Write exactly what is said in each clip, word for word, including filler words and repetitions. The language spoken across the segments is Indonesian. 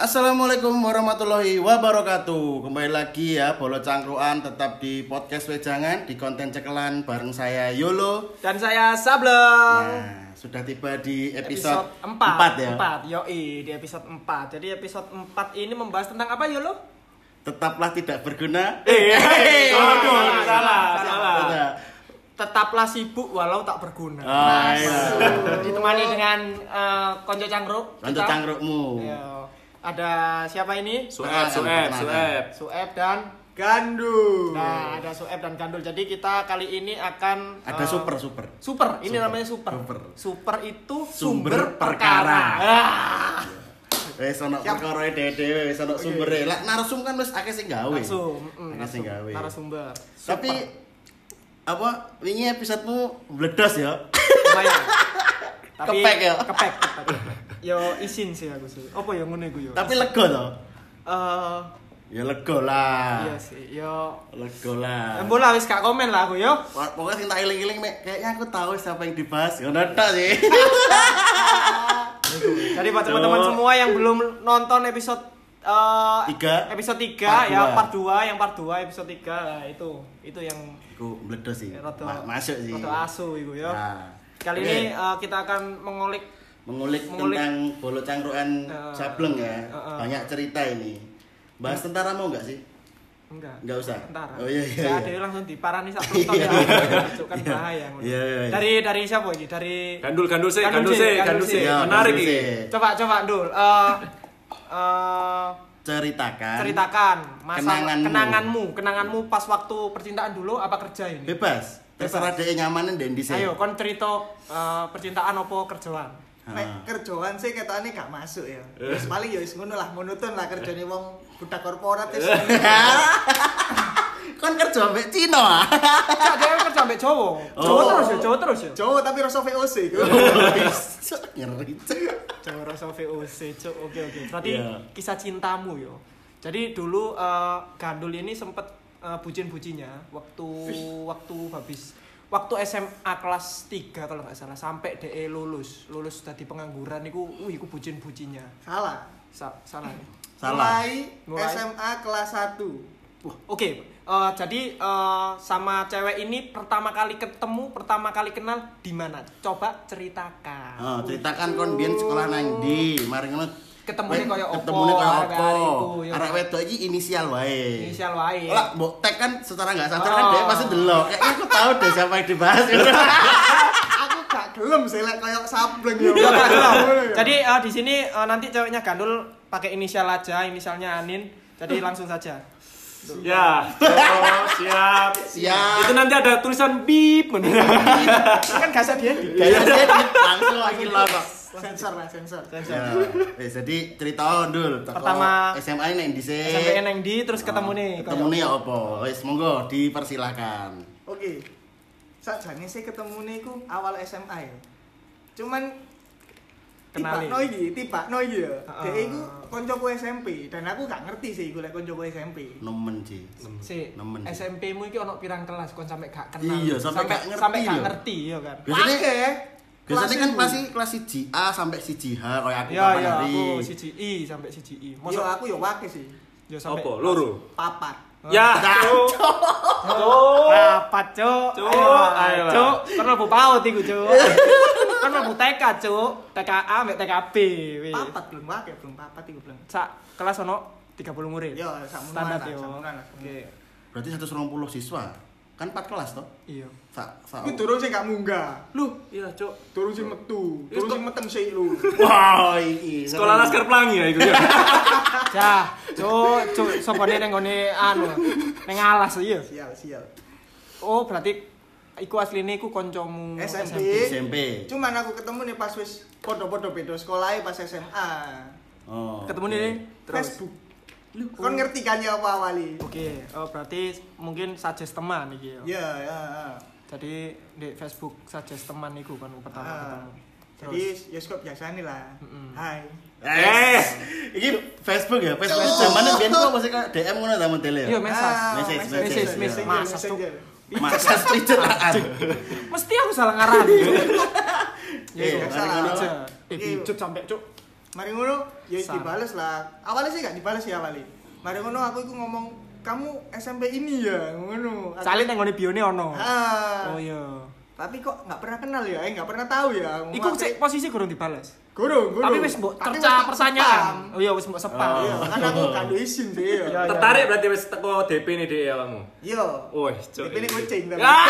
Assalamualaikum warahmatullahi wabarakatuh. Kembali lagi ya Bolo Cangkruan tetap di podcast Wejangan di konten cekelan bareng saya Yolo dan saya Sableng. Nah, sudah tiba di episode, episode empat, empat ya. empat, yoi di episode empat. Jadi episode empat ini membahas tentang apa Yolo? Tetaplah tidak berguna. Eh, hey, salah, salah, salah, salah. salah. Tetaplah sibuk walau tak berguna. Oh, iya. Ditemani dengan uh, konco cangkruk. Konco kita. cangkrukmu. Iya. Ada siapa ini? Sueb, Sueb, Sueb. Sueb dan Gandul. Nah, ada Sueb dan Gandul. Jadi kita kali ini akan Ada uh, super super. Super, ini Super. namanya super. Super. Super itu Sumber sumber, perkara. perkara. Ah. Wis ono perkara dhewe wis ono sumbere. Lah narsum kan wis akeh sing gawe. Langsung, mm, Akeh sing gawe. narasumber. Tapi apa wingi episodemu bledos ya? Lumayan. Tapi Kepek ya? Kepek, kepek. Yo isin sih aku sih. Apa ya ngono iku yo? Tapi lega to. Eh Ya lega lah. iya sih. Yo Lega lah. Embo lah wis gak komen lah aku yo. Pokoknya sing tak eling-eling mek kayaknya aku tahu siapa yang dibahas. Ngono tok sih. Jadi buat teman-teman semua yang belum nonton episode uh, Tiga. episode tiga Part ya dua. part dua yang part dua episode tiga lah itu. Itu yang Iku bledos sih. rada Ma- masuk sih. rada asu iku yo. Nah, Kali oke. ini uh, kita akan mengulik mengulik, mengulik- tentang Bolo Cangkruan Uh, Sableng ya. uh, uh. Banyak cerita ini. Bahas tentara mau enggak sih? enggak. Enggak usah. Tentara. Oh iya iya. Ya, iya. ada langsung diparani sak penonton ya. Itu kan bahaya. ngono. Iya, iya, iya. Dari dari siapa ini? Dari Gandul, gandul sih, Gandul gandul sih, sih, gandul gandul sih. sih. Ya, Menarik gandul ini. sih. Coba coba Dul. Eh eh Ceritakan. ceritakan masa Kenanganmu. kenanganmu, kenanganmu pas waktu percintaan dulu apa kerja ini? Bebas. Terserah dhek nyamanen dan di Ayo kon cerita eh, percintaan apa kerjaan? Nek kerjaan sih ketane gak masuk ya. Wis paling ya wis ngono lah, monoton lah kerjane wong budak korporat wis. Kon kerja mbek Cina ah. Cak dhewe kerja ambek Jawa. Jawa Oh. terus ya, Jawa terus ya. Jawa tapi rasa V O C iku. Ngeri. Jawa rasa V O C, Cuk. Oke oke. Berarti Iya. kisah cintamu yo. Jadi dulu eh, Gandul ini sempet eh, bucin-bucinnya waktu waktu habis waktu S M A kelas tiga kalau nggak salah sampai D E lulus. Lulus tadi pengangguran iku, wih iku bucin-bucinnya. Salah. Sa- salah. ya? Salah. Mulai, Mulai. S M A kelas satu. Wah, oke. Eh, jadi eh, sama cewek ini pertama kali ketemu, pertama kali kenal di mana? Coba ceritakan. Oh, ceritakan kon biyen sekolah nang ndi? Mari ngono. Ketemune koyo opo? Ketemune koyo arek-arek opo? iku, ya. Arek wedok iki inisial wae. Inisial wae. Lah, mbok tag kan secara enggak sadar kan Oh. dia pasti delok. Kayaknya aku tahu deh siapa yang dibahas. Aku gak gelem sih lek koyo sableng ya. Iya, Kak, gelem. Jadi eh, di sini eh, nanti ceweknya Gandul pakai inisial aja, inisialnya Anin. Jadi langsung saja. Ya, oh, siap. Siap. Itu nanti ada tulisan bip. Kan gak dia. Gaya dia langsung lagi lah, Pak. Sensor lah, sensor. Ya, wis jadi cerita ndul. Teko Pertama- S M A nek ndi sih? Sampai neng di terus ketemu nih. Ketemu nih ya apa? Wis monggo dipersilakan. Oke. Sakjane sih ketemune iku awal S M A ya. Cuman Kenali. tiba no iki, tiba no iki ya. Heeh. Dek iku koncoku S M P dan aku gak ngerti sih iku lek koncoku S M P. Nemen sih. Si Nemen. S M P mu iki ono pirang kelas kon sampai gak kenal. Iya, sampai gak ngerti sampai gak lho. ngerti ya kan. Biasanya Wake. biasanya kan Kelas pasti kelas siji A sampai siji H kayak aku Iya kapan iya hari. aku C G I sampai C G I. Yo Mosok aku yo wake sih. yo sampai Apa? Loro. Papat. Ya, cuk. Cuk. Rapat, Cuk. Cuk, Ayo, ayo lah. Cuk. Kan mlebu PAUD iku, Cuk. Kan mlebu T K, Cuk. T K A mbek T K B. wis. Papat belum wake, belum papat iku belum. Sak kelas ono tiga puluh murid. Yo sakmono Standar lah, yo. sakmono lah. Oke. Berarti seratus dua puluh siswa. Kan empat kelas toh? Iya. Sak sak. Iku durung sing gak munggah. Lu, iya, cuk. Durung sing metu, Wis durung kok- sing meteng sik lu. Wow, iki. Sekolah Laskar Pelangi ya itu ya. Cah, Cuk, Cuk, sopone ning ngene anu. Ning alas iya. Sial, sial. Oh, berarti iku asline iku kancamu S M P. S M P. Cuman aku ketemu nih pas wis podo-podo beda sekolahnya pas S M A. Oh. Ketemu oke. nih terus. Facebook. Lu kon ngerti kan ya apa awali? Oke, oh berarti mungkin suggest teman iki ya. Ya, ya. ya. Jadi di Facebook suggest teman iku kan pertama Ah. ketemu. Jadi ya kok biasa nih lah. Mm-mm. Hai. Eh, iki Facebook ya, Facebook zamane biyen kok masih kayak D M ngono ta modele Iya, ya. message. Ah, Message, message, message, message, Masa, messenger. Masa ceritaan. Mesti aku salah ngarang. Ya, Eh, iya, salah. aja. Eh, Iya. bicut sampai cuk. Mari ngono, ya Sam. dibales lah. Awalnya sih gak dibales ya awalnya. Mari ngono aku iku ngomong, "Kamu S M P ini ya?" Ngono. Aku- Salin nang ngone bione ono. Ah. Oh iya. Tapi kok nggak pernah kenal ya, eh nggak pernah tahu ya. Iku sik posisi kurang dibales. guru, guru. Tapi wis mbok Tapi cerca wis tak pertanyaan. spam. Oh iya wis mbok spam. Iya, kan aku gak ada izin sih ya. Iya. Tertarik berarti wis teko D P nih Dek ya kamu. Iya. Wih, cuk. Ini kucing tapi. Ah,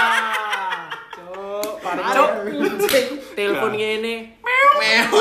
Cuk, Parah, cuk. kucing. Telepon ngene. Meow.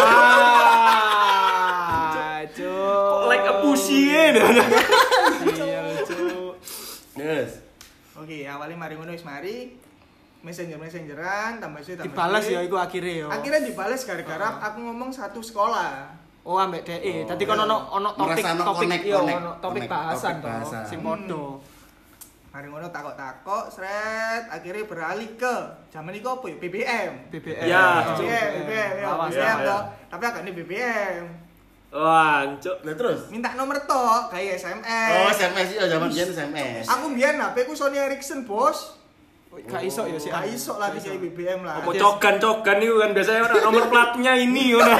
Ah, cuk. like a pussy ya. Iya, cuk. Yes. Oke, awalnya mari ngono wis mari. Messenger messengeran tambah sih tambah. Dibales sih. ya iku akhire yo. Akhirnya dibales gara-gara aku ngomong satu sekolah. Oh ambek D E. Tadi Oh, kan iya. ono ono topik Merasa ono topik connect, iya connect, ono topik connect, bahasan topik to bahasan. sing padha. Mari ngono takok-takok, sret, akhirnya beralih ke zaman itu apa ya? B B M. B B M. Ya, B B M, B B M, ya, Awas, B B M ya, toh. ya. Tapi agak ini B B M. Wah, cuk. Lah terus. Minta nomor toh, kayak S M S. Oh, S M S iya zaman biyen S M S. Aku mbiyen H P ku Sony Ericsson, Bos. Gak iso ya sih. Gak iso lah di B B M lah. Apa cogan-cogan itu kan biasanya orang nomor platnya ini ngono.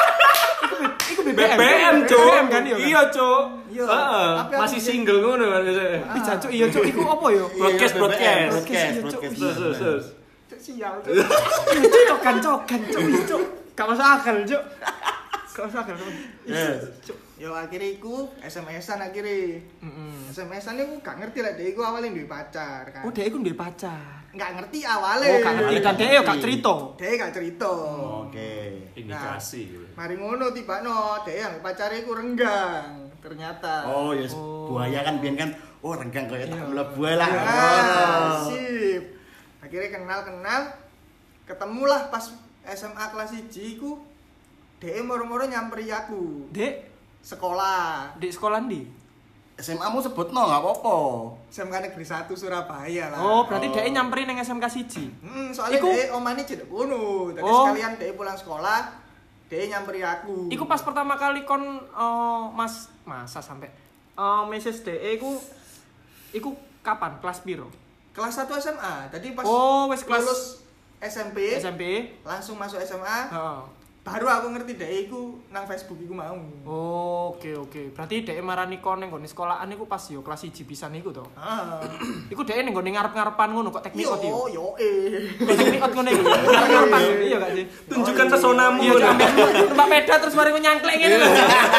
Iku B B B M, cuk. B B M kan iya. kan? Iya, cuk. Iya. Heeh, Tapi aku masih biyen- single ngono kan biasanya. Ih, jancuk iya cuk iku apa yo? Broadcast, Iya, broadcast. B B M, Broadcast, broadcast, iya, broadcast. Cuk. Terus, terus, terus. Cuk, sial. Cuk. Iya cuk cokan-cokan cuk iya, cuk. Gak masuk akal cuk. Gak masuk akal. Yes. Yo akhirnya iku S M S-an akhirnya. Heeh. S M S-an iku gak ngerti lah dia iku awalnya duwe pacar kan. Oh, dhek iku duwe pacar. Gak ngerti awalnya. Oh, gak ngerti dan dhek yo gak cerita. Dia gak cerita. Oke. Indikasi. Mari ngono tiba no, dia yang pacarnya iku renggang. Ternyata. Oh, yes. Oh. Buaya kan biyen kan oh renggang kaya tak Iya. mlebu lah. Ya, Oh. sip. Akhirnya kenal-kenal, ketemulah pas S M A kelas satu iku. Dia moro-moro nyamperi aku. Dek, Sekolah. di sekolah ndi? S M A mu sebutno enggak apa-apa. S M K Negeri satu Surabaya lah. Oh, berarti Oh. dhek nyamperin nang S M K siji. Hmm, soalnya Iku- dia omane cedek kono. Tadi Oh. sekalian dia pulang sekolah, dia nyamperi aku. Iku pas pertama kali kon eh, Mas masa sampai eh message D E iku iku kapan? Kelas piro? kelas satu S M A. Tadi pas Oh, wes kelas- lulus S M P, S M P. langsung masuk S M A. Heeh. Baru aku ngerti dia iku nang Facebook iku mau. Oh, oke oke. Berarti dhek marani kon ning nggone sekolahan iku pas yo kelas siji pisan iku to. Ah. Iku dhek ning nggone ngarep-ngarepan ngono kok teknik Yo, ot yo. yo eh. Kok teknik ot ngono iku. Ngarep-ngarepan iya gak sih? Tunjukkan pesonamu. Iya, Cuk. Numpak sepeda terus mari nyangklek ngene lho.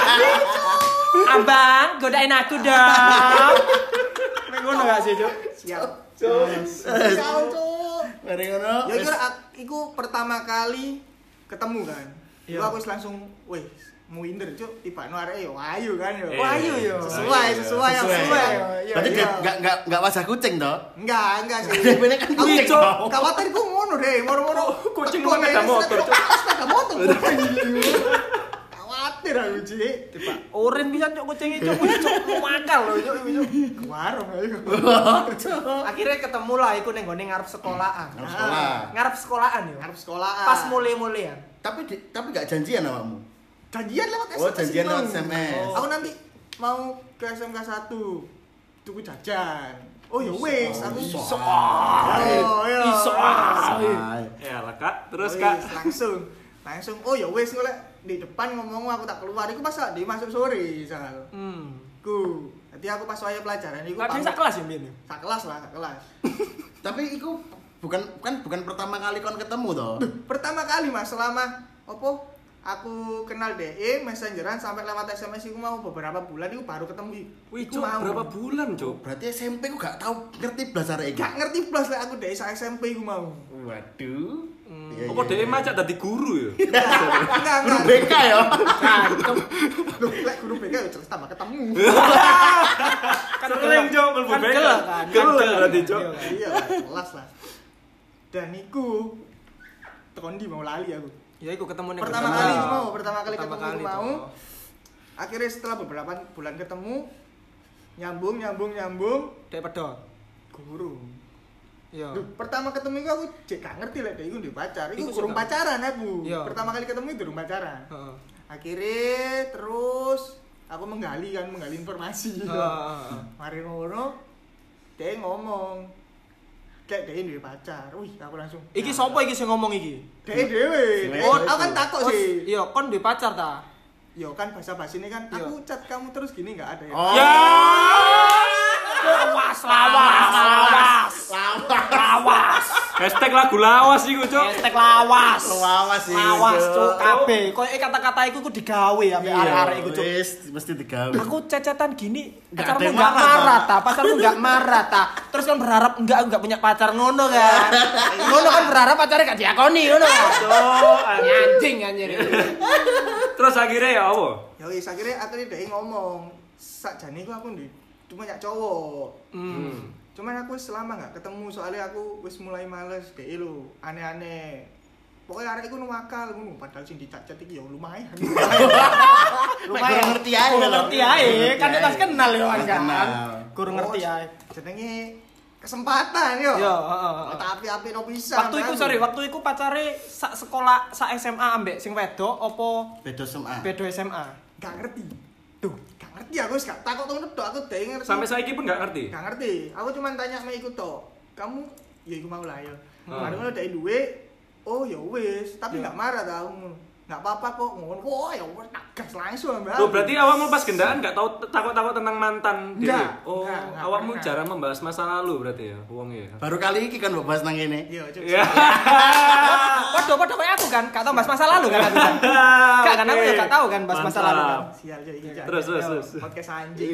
Abang, godain aku dong. Nek ngono gak sih, Cuk? Siap. Siap, Cuk. Mari ngono. Ya kira iku pertama kali ketemu kan. Iya. Iku aku wis langsung, wih, mau inder cuk, tiba no arek yo ayu kan yo. Iya, ayu yo. Sesuai, sesuai, Sesuai. sesuai. Iya, Berarti iya. enggak enggak enggak wajah kucing toh? Enggak, enggak sih. Ini kan Aku kucing cuk, toh. khawatir ku ngono deh, moro-moro. Kucing Kok mana ada ini motor, sepeda- Cuk? sepeda motor. Khawatir aku cik. Tiba oren bisa cuk kucing cuk, cuk makal lho cuk iki, cuk. Ke warung ayo. Akhirnya ketemu lah iku ning nggone ngarep sekolahan. Ngarep sekolah. Ngarep sekolahan yo. Ngarep sekolahan. Pas mulai-mulian. Tapi di- tapi enggak janjian awakmu. Janjian lewat S M S. Oh, janjian mau. lewat S M S. Aku nanti mau ke S M K satu. Tuku jajan. Oh ya wis, aku Iso. iso. Oh, iya. Iso. Ay. Ya lah, Kak. Terus, Wis, Kak. langsung. Langsung oh ya wis golek di depan ngomong aku tak keluar iku pas di masuk sore misal. Hmm. Ku. Jadi aku pas waya pelajaran iku Kadang sak kelas ya mbiyen. yo? sak kelas lah, sak kelas. Tapi itu bukan kan bukan pertama kali kon ketemu toh. Pertama kali Mas selama opo aku kenal D E messengeran sampai lewat S M S iku mau beberapa bulan iku baru ketemu. Wih, Iku Cuk, mau. berapa bulan, Cuk? Berarti S M P ku gak tahu ngerti blas arek iki. Gak ngerti plus lek aku D E sa S M P iku mau. Waduh. Iya, Apa iya, dhek iya. macak dadi guru ya? Enggak, Guru enggak. B K ya. Loh, lek guru B K ya jelas tambah ketemu. Kan Sering, Cuk, mlebu kan B K. gelak kan. Gelak Kan gelak berarti, kan, Cuk. iya kan. Iya, lah, jelas lah. Dan iku tekan di mau lali aku. Ya iku ketemu ning Pertama nggone- kali iku mau, pertama kali Pertama ketemu kali iku mau. toh. Akhirnya setelah beberapa bulan ketemu nyambung nyambung nyambung Dek pedot. guru. Iya. Duh, pertama ketemu iku aku jek gak ngerti lek dia iku ndek pacar. Iku Iku kurang suka. pacaran aku. Iya. Pertama kali ketemu itu durung pacaran. Heeh. Akhirnya terus aku menggali kan menggali informasi. Heeh. Mari ngono dia ngomong kayak dia duwe pacar. Wih, aku langsung. Iki sapa iki sing ngomong iki? Dia dhewe. Oh, Aku kan takut Oh, sih. iya, kon duwe pacar ta? yo kan basa-basi ini kan Iya. aku chat kamu terus gini enggak ada ya. Oh. Ya. Lawas, lawas, lawas. Lawas. Hashtag lagu lawas iku, Cuk. Hashtag lawas. Lawas sih. Lawas, Cuk. Kabeh. Koyo kata-kata iku ku digawe ambek arek-arek iku, Cuk. Wis mesti digawe. Aku cecetan gini, Nggak ada pacarmu yang enggak marah, marah Pak. ta, pacarmu enggak marah ta. Terus kan berharap enggak enggak punya pacar ngono kan. Ngono kan berharap pacarnya gak diakoni ngono kan. Cuk, Anjing anjir. Terus akhirnya ya apa? Ya wis akhirnya akhirnya dia ngomong sakjane ku aku ndi cuma nyak cowok. Hmm. Cuman aku wis lama gak ketemu soalnya aku wis mulai males dhek lho, aneh-aneh. Pokoknya arek iku nuwakal ngono padahal sing dicat-cat iki ya lumayan. Lumayan ngerti ae. Kurang ngerti ae, kan kita kenal yo Mas kan. kenal. Kurang ngerti ae. Jenenge kesempatan yo. Yo, heeh. heeh. Tapi api no bisa. Waktu iku sorry, waktu iku pacare sak sekolah sak S M A ambek sing wedok apa Beda S M A. beda S M A? gak ngerti. Tuh, gak ngerti aku wis gak takut ngono tok aku dhek ngerti. Sampai saiki pun gak ngerti. Gak ngerti. Aku cuma tanya sama iku tok. Kamu ya iku mau lah ya. Hmm. Mari ngono dhek duwe. Oh ya wis, tapi Ya. gak marah ta aku. Gak apa-apa kok ngono. Wah, ya wis tak gas langsung ambek. Oh, aku. berarti awakmu pas gendaan gak tahu takut-takut tentang mantan dia. Enggak, Oh, enggak, enggak awakmu pernah. jarang membahas masa lalu berarti ya, wongnya ya. Baru kali ini kan mbok bahas nang ngene. Iya, Cuk. Ya. Podo podo kayak aku kan, gak tau bahas masa lalu kan aku kan. Gak kan aku ya gak tau kan bahas masa lalu kan. Sial Cuk iki. Cuk. Terus, terus, Yo, terus. Podcast anjing.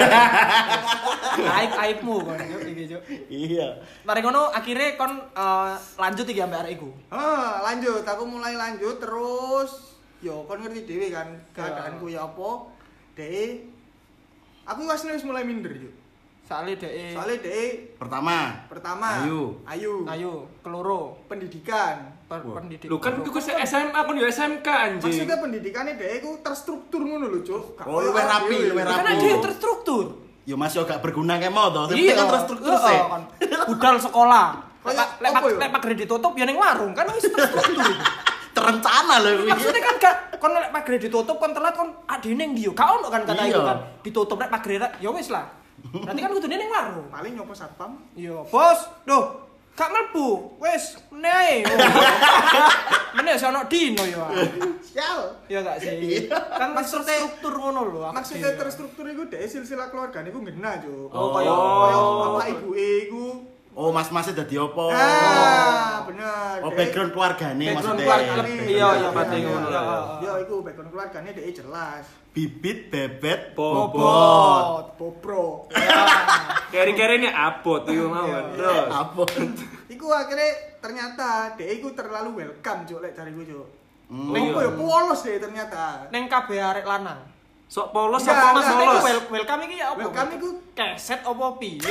Aib aibmu kan iki Cuk. Iya. Mari ngono akhirnya kon eh, lanjut iki ambek arek iku. Ah, lanjut. Aku mulai lanjut terus yo kon ngerti dhewe kan keadaanku ya apa. Dek aku asline wis mulai minder yo. Soale dhek Soalnya dek Pertama, pertama Ayu. Ayu. ayo keloro Pendidikan. per Wah. pendidik. Lu kan iku se- S M A kon yo S M K anjing. Maksudnya pendidikannya dek iku terstruktur ngono lho, Cuk. Gak Oh, koyo luwih awake rapi, dhewe. luwih Kan rapi. ada yang terstruktur. yo masih gak berguna kayak mau toh. Tapi Iya kan terstruktur heeh, sih. kan. Budal sekolah. Kayak Lek apa yo? lek pagere ditutup ya ning warung kan wis terstruktur. Terencana loh kuwi. Maksudnya kan gak kon lek pagere ditutup kon telat kon adene ndi yo. Gak ono kan kata Iya. itu kan. Ditutup lek pagere ya wis lah. Berarti kan kudune ning warung. Paling nyopo satpam. Iya, bos. Duh, gak mlebu. Wis, meneh ae. Meneh sono dino ya. Sial. Ya gak sih? Kan Maksudnya- struktur ngono lho. aku Maksudnya dhewe. terstruktur iku dek silsilah keluargane iku ngena, Cuk. Oh, Kaya oh. kaya bapak ibu iku. Oh, mas-masnya dadi opo? Ah, bener. Oh, Dek. background keluargane Background maksudnya. keluarga. Keluargane. Iya, iya, berarti Iya, ngono iya. lah. Yo iku background keluargane dek jelas. Bibit bebet Bobot. Bobot. Bobro. Keri-keri ini abot iku mawon. Terus. apa? Iku akhirnya ternyata dek iku terlalu welcome, Cuk, lek cariku, Cuk. Hmm. Oh, iya. Apa ya polos deh ternyata. Neng kabeh arek lanang. Sok polos Enggak, apa mas enggak, Maksudnya polos? iku wel- welcome iki ya apa? Welcome iku keset apa piye?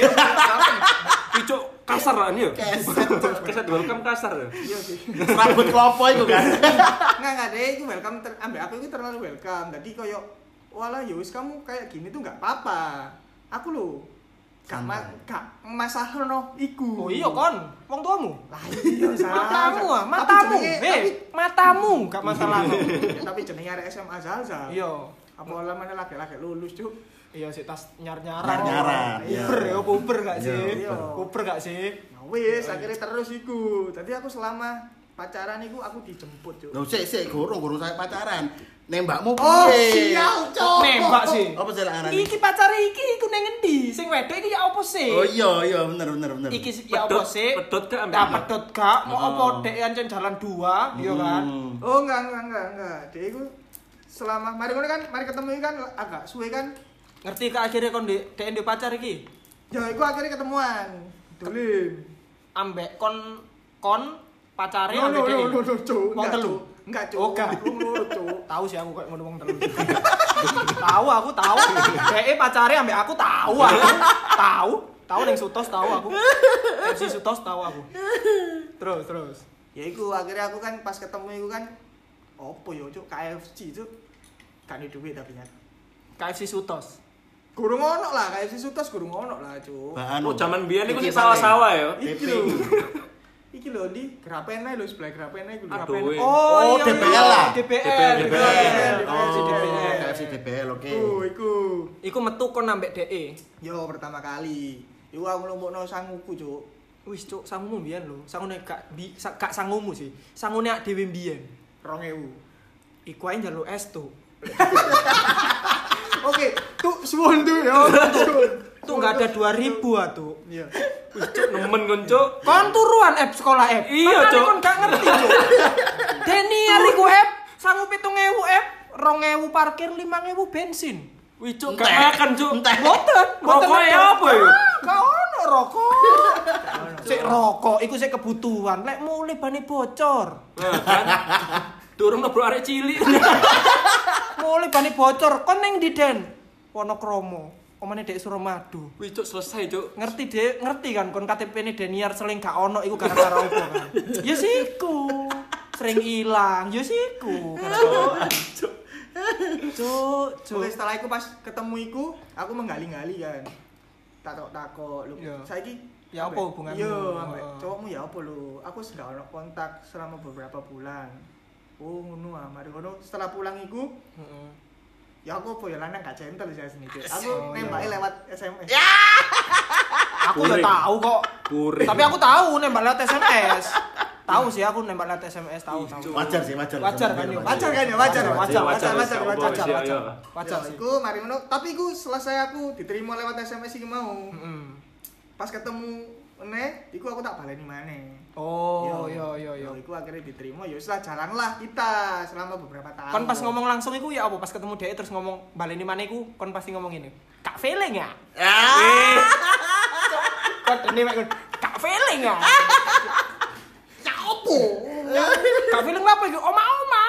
Picuk kasar lah ini yo. Keset. Keset welcome kasar ya. iya sih. Rambut klopo iku kan. Enggak enggak deh, iku welcome ter ambek aku iku terlalu welcome. Jadi koyo walah ya wis kamu kayak gini tuh enggak apa-apa. Aku lho gak ma Santai. gak masalahno iku. Oh iya kon, wong tuamu. Lah iya Matamu ah, Tapi matamu. jenenge- Hei, matamu gak masalah. Tapi, tapi jenenge arek S M A Zalza. Iya. Apa lamane lagi-lagi lulus, Cuk. Iya sih tas nyar-nyaran. Nyar-nyaran, iya. Puber ya, puber gak sih? Iya. Puber gak sih? Ya wis akhirnya terus iku. Tadi aku selama pacaran iku aku dijemput, Cuk. Lho sik sik gurung gurung saya pacaran. Nembakmu Oh, piye? sial, Cuk. Nembak sih. Apa sih arane? Iki pacare iki iku nang endi? Sing wedok iki ya apa sih? Oh iya iya bener bener bener. Iki sih ya apa Pedot- sih? pedot gak ambek Nah, anak? pedot gak? Mau Oh. apa dek ancen jalan dua, iya kan? Hmm. Oh enggak enggak enggak enggak. Dia itu selama mari ngono kan mari ketemu ini kan agak suwe kan. Ngerti ke akhirnya kon dek dek ndek pacar iki? Ya iku akhirnya ketemuan. Dolin. Ambek kon kon pacare No ambek no dek. no no no Cuk. Wong Enggak, telu. Cuk. Enggak, Cuk. Oh, enggak. Wong loro, Cuk. Tahu sih aku kayak ngono wong telu. Tahu aku tahu. Dek pacare ambek aku tahu aku. Tahu. Tahu ning Sutos tahu aku. F C Sutos tahu aku. Terus terus. Ya iku akhirnya aku kan pas ketemu iku kan opo yo Cuk K F C Cuk. Kan duit tapi kan. K F C Sutos. Gurung ono lah K F C Sutos gurung ono lah, Cuk. Bahan. Oh zaman biyen iku Iki sih sawah-sawah ya. Iki T P. lho. Iki lho di Grapene lho sebelah Grapene iku lho. Aduh, weh. Oh, iya, D P L iya. lah. D P L. D P D P L. L. Oh, D P L. K F C D P L oke. Iku iku. Iku metu kon ambek D E. Yo pertama kali. Iku aku nglumpukno sanguku, Cuk. Wis cuk, sangumu mbiyen lho. Sangune gak bi, sa, gak sangumu sih. Sangune ak dhewe mbiyen. dua ribu. Iku ae njaluk es tuh. Oke, tuh suwun tuh ya. Tuh enggak ada dua ribu atuh. Iya. Wih, Cuk, nemen kon, Cuk. Kon turuan app sekolah app. Iya, Cuk. Kon gak ngerti, Cuk. Deniar iku app sanggup pitung ewu app, rong ewu parkir, lima ewu bensin. Wih, Cuk, gak makan, Cuk. Mboten, mboten. Rokok ya apa ya? Gak ono rokok. Sik rokok iku sik kebutuhan. Lek mulai bane bocor. Nah, kan. Durung nabrak arek cilik. Mulai bane bocor kon ning ndi Den? Wonokromo. Omane Dek Suramadu. Wih, Cuk, selesai, Cuk. Ngerti Dek, ngerti kan kon K T P-ne Deniar seling gak ono iku gara-gara opo kan. Ya siku. Sering ilang, ya siku. Cuk. Cuk, cuk. Oke, setelah itu pas ketemu iku, aku menggali-gali kan. Takok-takok, lu Iya. saiki Ya apa hubunganmu? Iya, Oh, ambek oh. cowokmu ya apa lu? Aku wis gak ono kontak selama beberapa bulan. Oh, ngono ah, mari ngono setelah pulang iku, Heeh. ya aku apa ya lanang gak gentle sih sini. Aku Oh, nembake iya. lewat S M S. Aku udah Kuring. tahu kok. Kuring. Tapi aku tahu nembak lewat S M S. Tahu sih aku nembak lewat S M S, tahu tahu. Wajar sih, wajar. Wajar kan, yuk. Wajar kan ya, wajar, Wajar, wajar, wajar, wajar, wajar, wajar. wajar, wajar. iya. Wajar Ya, sih. iku mari ngono, tapi iku selesai aku diterima lewat S M S iki mau. Heeh. Pas ketemu meneh, iku aku tak baleni maneh. Oh, yo yo yo. Iku akhirnya diterima, ya wis lah jalanlah kita selama beberapa tahun. Kon pas ngomong langsung iku ya apa pas ketemu dia terus ngomong baleni mana iku kon pasti ngomong ini. Kak feeling ya? Eh, Kok dene mek kon, Kak feeling ya? ya opo? Kak feeling apa iku? Oma-oma.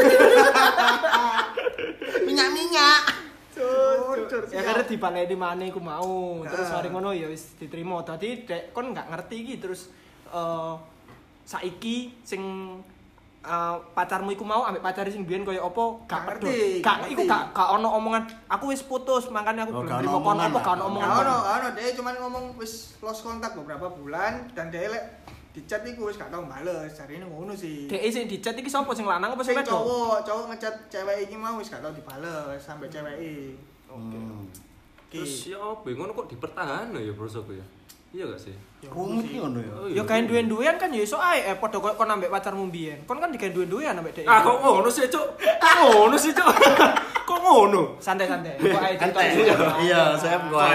Minyak-minyak. Cur, Ya karena dibaleni mana iku mau. Terus Ah. mari ngono ya wis diterima. Dadi dek kon gak ngerti iki terus eh saiki sing eh, pacarmu iku mau ambek pacare sing biyen koyo apa gak Gak pedul. ngerti, Gak gak iku ngerti. gak gak ono omongan aku wis putus makanya aku Oh, belum gak ono terima kon omongan apa lah. gak ono Gak omongan. ono, gak ono, dia cuma ngomong wis lost kontak beberapa bulan dan dia lek di chat iku wis gak tau bales. Jarine ngono sih. Dek sing di chat iki sapa sing lanang apa sing Sing wedok? cowok, cowok ngechat cewek iki mau wis gak tau dibales sampai cewek iki. Hmm. terus ya apa? Ngono kok dipertahan ya prosoku ya? Iya gak sih? Rumit ki ngono ya. Oh, Ya kain duwe-duwean kan ya iso ae eh padha koyo kon ambek pacarmu biyen. Kon kan digawe duwe-duwean ambek dek. Ah, kok ngono sih, Cuk? Kok ngono sih, Cuk? Kok ngono? Santai-santai. Kok ae cerita. Ente. Iya, saya bukan.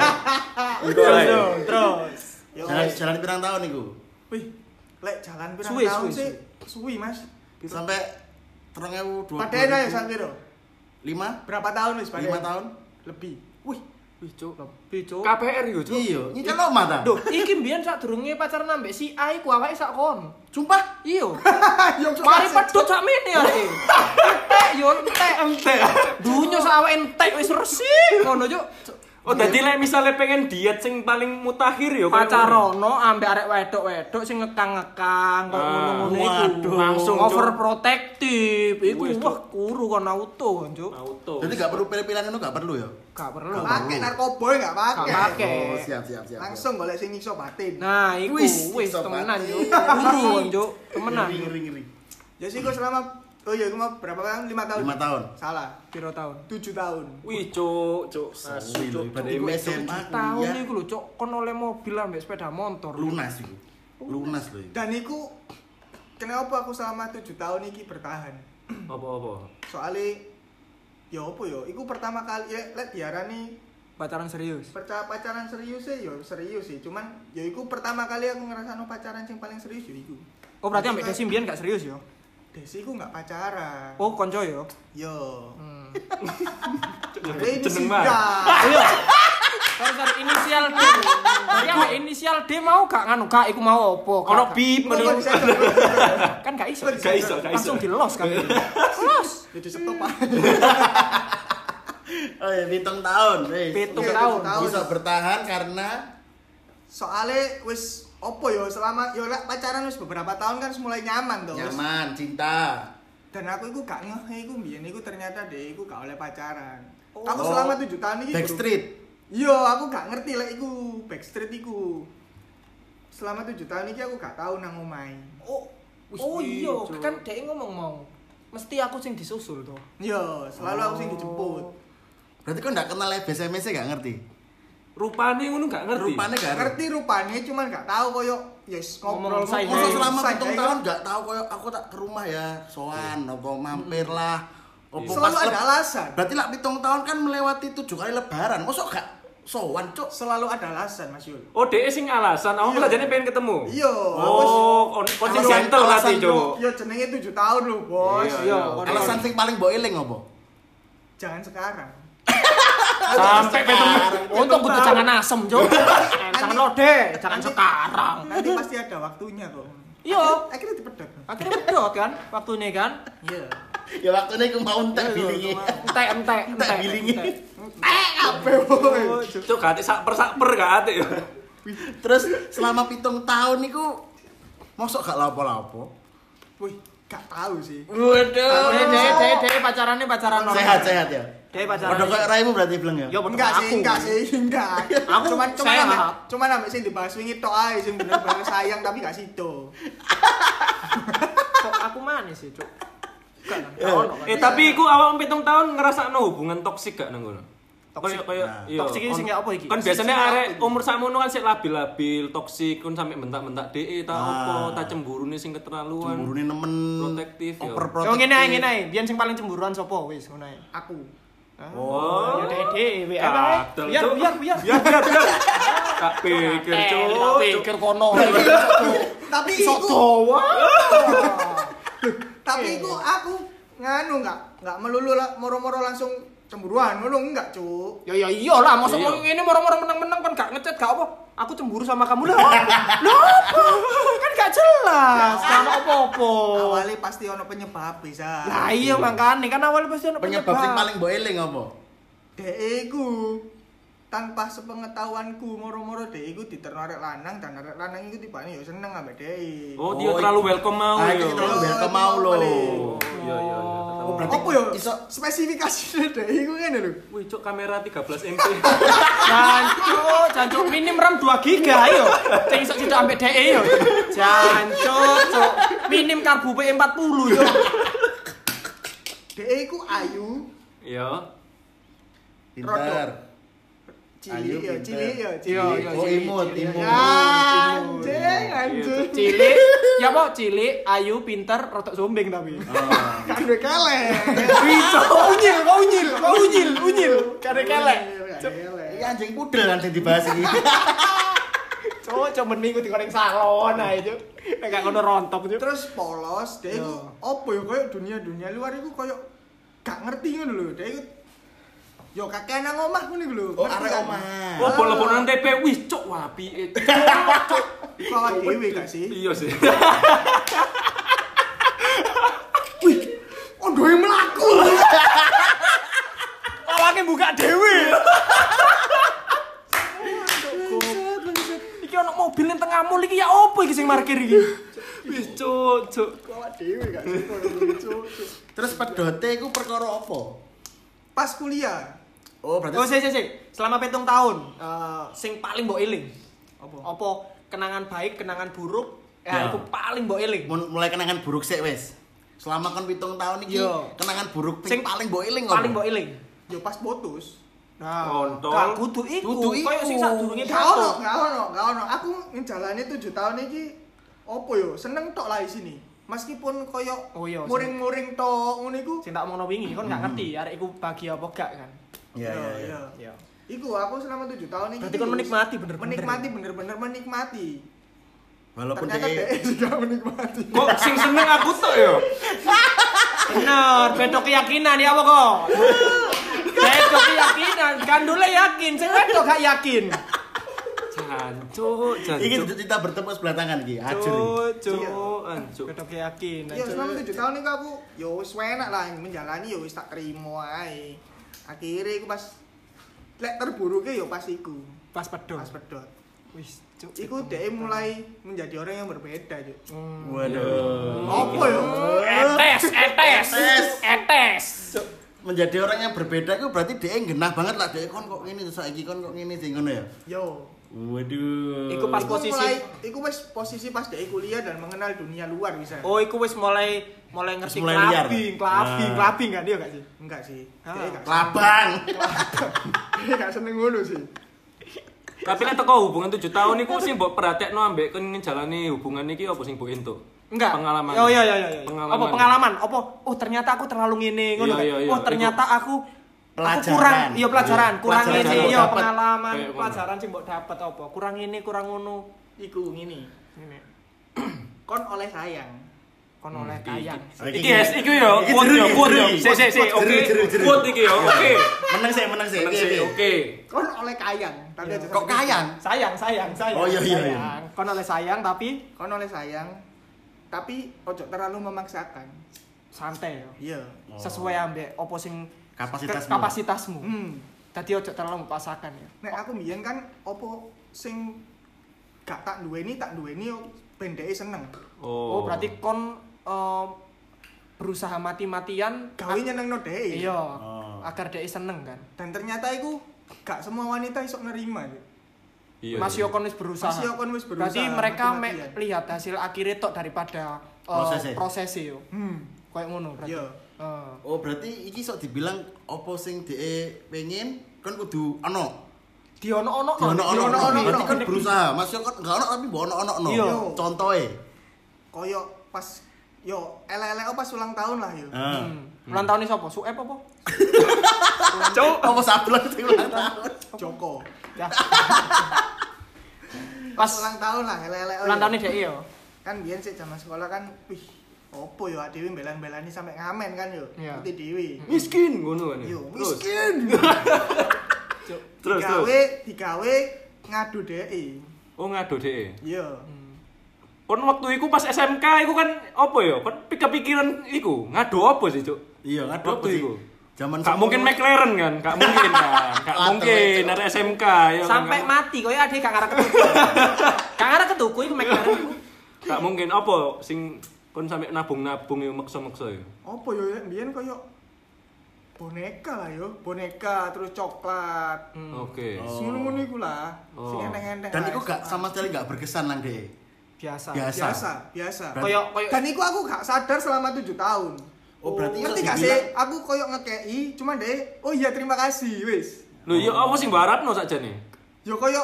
Terus terus. Yo, Jalan wis. jalan pirang tahun iku? Wih, lek jalan pirang Suwi, tahun suwi, sih? Suwi, Mas. Sampai terong ewu dua Padahal ya sak piro? lima Berapa tahun wis lima padahal? tahun Lebih. Wih, wih cuk, lebih cuk. K P R yo, Cuk. iya nyicil lo mata Duh, iki mbiyen sak durunge pacaran ambek si A iku awake sak kon. sumpah Iya. Yo, Mari pedhot sak mene arek. Entek yo entek entek. Dunyo sak awake entek wis resik ngono cuk. Oh, dadi lek misale pengen diet sing paling mutakhir yo Pacarono ambek arek wedok-wedok sing ngekang-ngekang kok Ah, ngono-ngono iku. waduh. Langsung, Cuk. overprotective. Iku Wis, wah Cuk. kuru kon auto, Cuk. auto. jadi gak perlu pilih-pilihan itu gak perlu ya Gak perlu. pakai narkoba enggak pakai. Gak pakai. oh siap siap siap Langsung golek sing nyiksa batin. Nah, iku Wis, wis iso temenan mati. yo. Guru kon, Cuk. Temenan. ngeri ngeri ngeri Ya sih gua selama oh iya gua mau berapa tahun? lima tahun. lima tahun Salah. Piro tahun? tujuh tahun. Wih, Cuk, Cuk. Asu, Wih, Cuk. berarti gue S M A Tahun kuliah iku lho, Cuk. Kon oleh mobil ambek sepeda motor. lunas itu lunas loh Dan iku kenapa aku selama tujuh tahun iki bertahan? Apa-apa? Soalnya ya apa ya? Iku pertama kali ya lek diarani Pacaran serius. percaya pacaran serius sih, ya serius sih. Cuman ya iku pertama kali aku ngerasano pacaran yang paling serius ya iku. Oh, berarti ambek Desi mbiyen gak serius yo. Desi iku nggak pacaran. Oh, konco yo. Yo. Hmm. Ini Jeneng sih mah. Iya. Sorry, sorry, inisial D. Berarti ambek inisial D mau gak nganu, gak iku mau opo? Gak- Ono gak- bip Kok menurut. bisa Kan gak iso. Gak iso, gak iso. Langsung di-los kan. Los. jadi stop Pak. oh ya hitung tahun wis. Pitung Oke, tahun. tahun. bisa bertahan karena Soalnya wis opo yo selama yo lek pacaran wis beberapa tahun kan mulai nyaman tuh. wis. nyaman cinta Dan aku iku gak ngeh iku mbiyen iku ternyata deh iku gak oleh pacaran. Oh. Aku selama tujuh tahun iki backstreet Yo, aku gak ngerti lek iku backstreet iku. Selama tujuh tahun iki aku gak tahu nang omahe. Oh, Wis, oh iya, Cuk. kan dia ngomong mau. Mesti aku sing disusul tuh. Yo, selalu aku sing dijemput. berarti kau nggak kenal B S M S gak ngerti Rupane ngono gak ngerti. rupanya gak ngerti Ngerti rupane cuman gak tahu koyo yes ngobrol Ngomong say Masa hey. selama say hitung hey tahun kan. nggak tahu kayak aku tak ke rumah ya soan atau mampir lah Opo Selalu pas ada leb- alasan. Berarti lah pitung tahun kan melewati tujuh kali lebaran. Mosok gak sowan, Cuk? Selalu ada alasan, Mas Yul. Oh, dhek sing alasan. Aku malah jane pengen ketemu. Iya. Oh, kon kon sing Alasan- gentle berarti, alasan Cuk. Ya jenenge tujuh tahun lho, Bos. Iya, Iya, iya. Alasan sing paling mbok eling apa? Jangan sekarang. Sampai petung. Untuk kudu jangan asem, Cuk. Jangan lode, jangan Nanti- sekarang. Nanti pasti ada waktunya kok. Iya. Akhirnya dipedot. Akhirnya bedot kan waktunya kan. Iya. Ya waktunya aku mau entek bilingi. Entek entek Entek bilingi. Eh, apa boy? Cuk, gak ati sak per sak per gak ati yo. Terus selama pitung tahun niku mosok gak lapo-lapo. Wih, gak tahu sih. Waduh. Dek dek dek dek pacarannya pacaran normal. Sehat-sehat ya. Dek pacaran. Padha kayak raimu berarti bilang ya. Yo betul Enggak aku. sih, enggak sih, enggak. Aku cuman cuman sehat. ambek cuman ambek sing dibahas wingi tok ae sing bener-bener sayang tapi gak sido. Kok aku manis sih, Cuk. Enggak kan. Eh, Gak ono kan. Eh, tapi iku awak pitung tahun ngrasakno hubungan toksik gak nang ngono? Toksik. Kayak kayak Nah. iya. Toksik iki sing on- apa iki? Kan biasanya Sing arek apa? umur sakmono kan sik labil-labil, toksik kun sampe mentak-mentak dhek ta Ah. opo, ta cemburune sing keterlaluan. Cemburune nemen Protektif, ya. overprotective. Yo ngene ae ngene ae, biyen sing paling cemburuan sapa wis ngono ae. Aku. Oh. Ya dek dek W A. Kadal, Biar Cuk. biar biar. Biar biar biar. Tak pikir, Eh, Cuk. tak pikir kono. Tapi Sok iku Jawa. tapi iku aku nganu enggak enggak melulu lah moro-moro langsung cemburuan ngono enggak, Cuk. Ya ya iyalah, mosok Iya. mau ngene moro-moro menang-menang kan gak ngechat gak apa. Aku cemburu sama kamu lah. Lah apa? Kan gak jelas. Kan apa-apa. Awalnya pasti ono penyebab bisa. Lah iya makane kan awalnya pasti ono Penyebab sing paling mbok eling apa? Dek iku tanpa sepengetahuanku moro-moro dek iku diterno arek lanang dan arek lanang iku tibane yo seneng ambek dek. Oh, dia Oh, terlalu iku- welcome mau Ah, ya. iki terlalu Yo, welcome iki mau mau lho. paling. Oh, iya iya iya. Oh, berarti Apa yo? iso- Spesifikasinya dek iku ngene lho. Wih, Cuk, kamera tiga belas M P. Jancuk, jancuk minim RAM dua giga yo. Sing iso tidak ambek D E yo. Jancuk, cuk. Minim karbu P empat puluh yo. Dek iku ayu, Iya. Pinter. Ayu, cilik ya, pinter. cilik ya, Iya, cilik. iya, Oh, cilik, imut, cilik. imut. Anjing, anjing. Cilik, ya apa? Cilik, ayu, pinter, rotok zombing tapi. Oh. Kan duwe kelek. Bisa, unyil, kau unyil, kau unyil, unyil. Kare kelek. Iki anjing pudel kan sing dibahas iki. Cuk, cuk mending di goreng salon ae, Cuk. Nek gak ngono rontok, Cuk. Terus polos, dia itu apa ya kayak dunia-dunia luar itu kayak gak ngerti ngono lho. Dia itu yo kakek nang omah ngono iku lho. Oh, Ngerti arek kan? omah. Oh, bola-bola T P. Wih, Cuk, wapi. Iku awak dhewe gak sih? Iya sih. Wih, ondo yang mlaku. Awake buka dhewe. Iki ono mobil ning tengah mall iki ya opo iki sing parkir iki? Wih, Cuk, Cuk. Awak dhewe gak sih? Cuk. Terus pedote iku perkara apa? Pas kuliah. Oh, berarti Oh, sik sik sik. Selama pitung tahun, eh sing paling mbok eling. Apa? Apa kenangan baik, kenangan buruk? Ya. Ya, iku paling mbok eling. Mun- mulai kenangan buruk sik wis. Selama kon pitung tahun iki Yo. kenangan buruk Sing sing paling mbok eling Paling apa? mbok eling. Yo pas putus. Nah, Kontol. gak kudu iku. Kudu iku. Kayak sing sadurunge Gak ono, putus. gak ono, gak ono. Aku ngejalani tujuh tahun iki opo yo? Seneng tok lah di sini. Meskipun koyo Oh iya, muring-muring tok ngono iku. Sing tak omongno wingi kon gak ngerti arek iku bahagia apa gak kan. Iya, iya, iya. Ya. Iku aku selama tujuh tahun ini. Berarti kon menikmati bener-bener. Menikmati bener-bener menikmati. Walaupun Ternyata dia dia juga menikmati. Kok sing seneng aku tok ya? Bener, beda keyakinan ya apa kok? Beda keyakinan, gandule yakin, sing wedok gak yakin. Jancuk, iki jancuk. kita bertemu sebelah tangan iki, ajur. Cuk, Cuk, ancuk. Beda keyakinan. Yo selama tujuh tahun ini aku yo wis enak lah menjalani yo wis tak terima ae. Akhirnya aku pas lek terburuknya yo pas iku. Pas pedot. Pas pedot. Wis, cuk. Iku dia mulai menjadi orang yang berbeda, Cuk. Hmm. Waduh. Apa ya? Etes, etes, Etes. etes. Menjadi orang yang berbeda itu berarti dia genah banget lah, dia kon kok ngene saiki kon kok ngene sing ngono ya. Yo. Waduh. Iku pas Iku posisi- mulai, iku wis posisi pas dia kuliah dan mengenal dunia luar bisa. Oh, iku wis mulai mulai ngerti Wis mulai liar. clubbing, clubbing, Ah. clubbing kan dia gak sih? Enggak sih. Ah. Dia gak Labang. Dia gak seneng ngono sih. Tapi nek teko hubungan tujuh tahun iku sing mbok perhatekno ambek kon njalani hubungan iki apa sing mbok entuk? Enggak. Pengalaman. Oh iya iya iya. iya. Pengalaman. Apa pengalaman? Apa? Oh ternyata aku terlalu ngene ngono. Iya, iya, iya. Oh ternyata aku Pelajaran. aku kurang iya pelajaran, Iya, kurang pelajaran ngene mbok iya dapet. pengalaman, Kayak ngono. pelajaran sing mbok dapat apa? Kurang ini, kurang ngono. Iku ngene. Ngene. Kon oleh sayang. Kon Hmm, oleh iki- kayang. Iki guys, iki yo, Iki quote jeru, yo, iki quote yo. jeru. Si si si, Jeru, oke. jeru, jeru. Quote iki yo, oke. Meneng sih, meneng sih. Meneng Piye, sih, piye? oke. Kon oleh kayang, tapi Iya. aja Kok kayang? Sayang, sayang, sayang. Oh, iya, iya, iya. sayang. Kon oleh sayang tapi Kon oleh sayang, tapi ojo terlalu memaksakan. santai yo. Iya. Oh. Sesuai ambek opo sing Kapasitasmu. kapasitasmu. Hmm. Dadi ojo terlalu memaksakan ya. Nek aku mbiyen kan opo sing gak tak duweni tak duweni yo pendeke seneng. Oh, berarti kon em, berusaha mati-matian Gawe nyenengno dhek. iya Oh. agar dia seneng kan. Dan ternyata iku gak semua wanita iso nerima. Iya. Mas iya. Yokon wis berusaha. Mas Yokon wis berusaha, Berarti mereka me- mati-matian. lihat hasil akhirnya tok daripada uh, Prosesnya. prosesnya yo. Hmm. Kayak ngono berarti. Iya. Heeh. Oh, berarti iki sok dibilang opo sing dhek pengen kon kudu ono. Di ono-ono Di ono-ono. ono-ono. Berarti kon berusaha. Mas yo kon enggak ono tapi mbok ono-ono. Iya. Contohe. Koyo pas yo elek-elek pas ulang tahun lah yo. Heeh. Hmm. Ulang tahun ini sapa? Suep apa? Cuk, apa sablon sing ulang tahun? Joko. Ya. Pas Pas ulang tahun lah elek-elek. ulang tahun ini dia yo. Kan biyen sik zaman sekolah kan wih opo yo dhewe belan-belani sampe ngamen kan yo. Iya. Ngerti dhewe. Miskin ngono kan. ya? Yo Terus, miskin. Terus terus. Digawe digawe ngadu dhek. Oh ngado dhek. Iya. Kon waktu iku pas S M K iku kan apa ya? Kon kepikiran iku ngado apa sih, Cuk? Iya, ngaduk Waktu sih. iku. Zaman Gak mungkin McLaren kan? Gak mungkin kan? Gak Atau mungkin itu. dari S M K ya. kan? Sampai Gak- mati koyo ade gak ngarep ketuku. Gak ngarep ketuku iku McLaren. Gak mungkin apa sing kon sampai nabung-nabung yo maksa-maksa ya. Apa yo biyen koyo boneka lah yo, boneka terus coklat. Oke. Oh. Ngono-ngono iku lah. Sing Oh. enteng-enteng. Dan lah, itu gak S M A. sama sekali gak berkesan nang dhek. Biasa. Biasa. biasa, biasa. Berarti- Koyo koyo Dan iku aku gak sadar selama tujuh tahun. Oh, berarti Ngerti iso gak dibilang- sih? Aku koyo ngekei, cuma deh, oh iya terima kasih, wis. Lho ya apa sing barapno sakjane? Yo koyo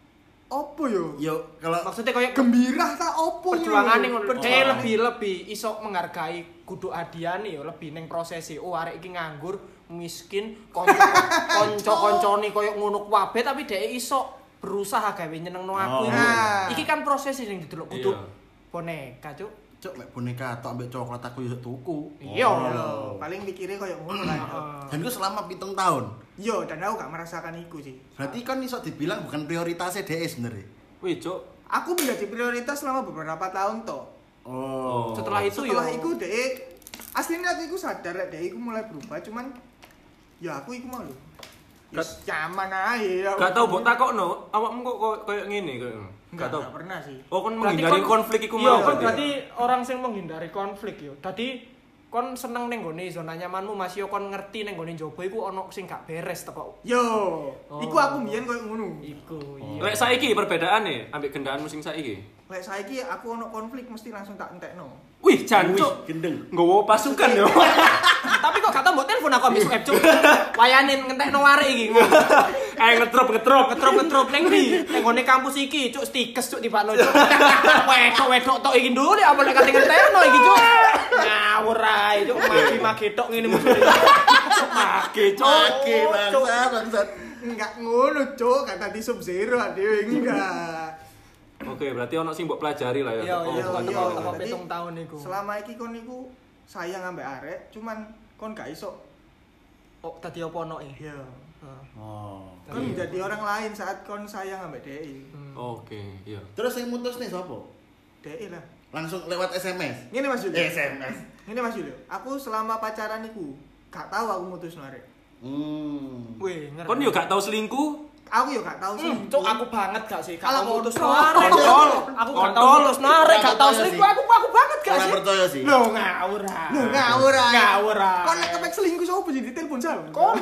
opo yo? Yo kalau maksudnya koyo Gembira ta opo perjuangan ning ngono? dhek lebih lebih iso menghargai kudu adiane yo lebih ning prosesi. Oh arek iki nganggur, miskin, kanca kanca-kancane koyo ngono kabeh tapi dhek iso berusaha gawe nyenengno Oh. aku iki. Nah. Iki kan prosesi sing didelok kudu Iya. boneka, Cuk. cuk mek boneka tok ambek coklat aku yo tuku. Iya. Lho, paling mikirnya koyo ngono lah. yo. Heeh. Dan itu selama pitung tahun. Yo, dan aku gak merasakan iku sih. Berarti kan iso dibilang bukan prioritasnya dhek sebenarnya. Wih, Cuk. Aku menjadi prioritas selama beberapa tahun toh. Oh. Setelah itu yo Setelah iku dek, aslinya aku iku sadar lek dek iku mulai berubah, cuman ya aku iku mau lho. Yes, nyaman ae. ya. Gak tau mbok takokno, awakmu kok koyo- koyo ngene koyo. Enggak, Gak tau. enggak pernah sih. Oh, kon Berarti menghindari kon- konflik iku Iya, mau kon berarti orang sing menghindari konflik yo. Dadi kon seneng ning gone zona nyamanmu Mas yo kon ngerti ning gone njaba iku ana sing gak beres teko. Yo, Oh. iku aku mbiyen koyo ngono. Iku iya. Lek saiki perbedaane ambek gendaanmu sing saiki. Lek saiki aku ono konflik mesti langsung tak entekno. Wih, jancuk. gendeng. Nggowo pasukan yo. Tapi kok gak tau mbok telepon aku ambek Sueb, Cuk. Wayane ngentekno arek iki. Eh ngetrop ngetrop. Ngetrop-ngetrop ning ndi? Ning gone kampus iki, Cuk, stikes Cuk tibakno, Cuk. Wedok-wedok tok iki nduk apa lek kate ngentekno iki, Cuk. Ngawur ae, Cuk. Magi-magi tok ngene musuh. Mage, Cuk. Oke, bangsa, bangsat. Enggak ngono, Cuk, kata di sub zero dhewe enggak. Oke, berarti ono sing mbok pelajari lah ya. Iya, Oh, iya, bukan iya. teko teman. teko Berarti pitung tahun iku. Selama iki kon niku sayang ambek arek, cuman kon gak iso. Oh, tadi apa ono e? Iya. Heeh. Oh. Kon menjadi orang lain saat kon sayang ambek dhek. Oke, iya. Terus yang mutus nih sapa? Dhek lah. Langsung lewat S M S. Ngene Mas Julio. Eh, S M S. Ngene Mas Julio. Aku selama pacaran iku gak tahu aku mutus arek. Hmm. Wih, ngerti. Kon yo gak tau selingkuh? Aku yo gak tahu sih. Hmm, Cuk, aku banget gak sih? Gak Kalau tau mutus kontol. narek. Kontol. Aku gak tau Kontol. mutus narek, gak tau Kontol selingkuh. sih. Aku aku banget gak Kurang sih? percaya sih. Loh, ngawur ah. Loh, ngawur ae. Ngawur ae. Kon nek kepek selingkuh sapa jadi telepon sal? Kon.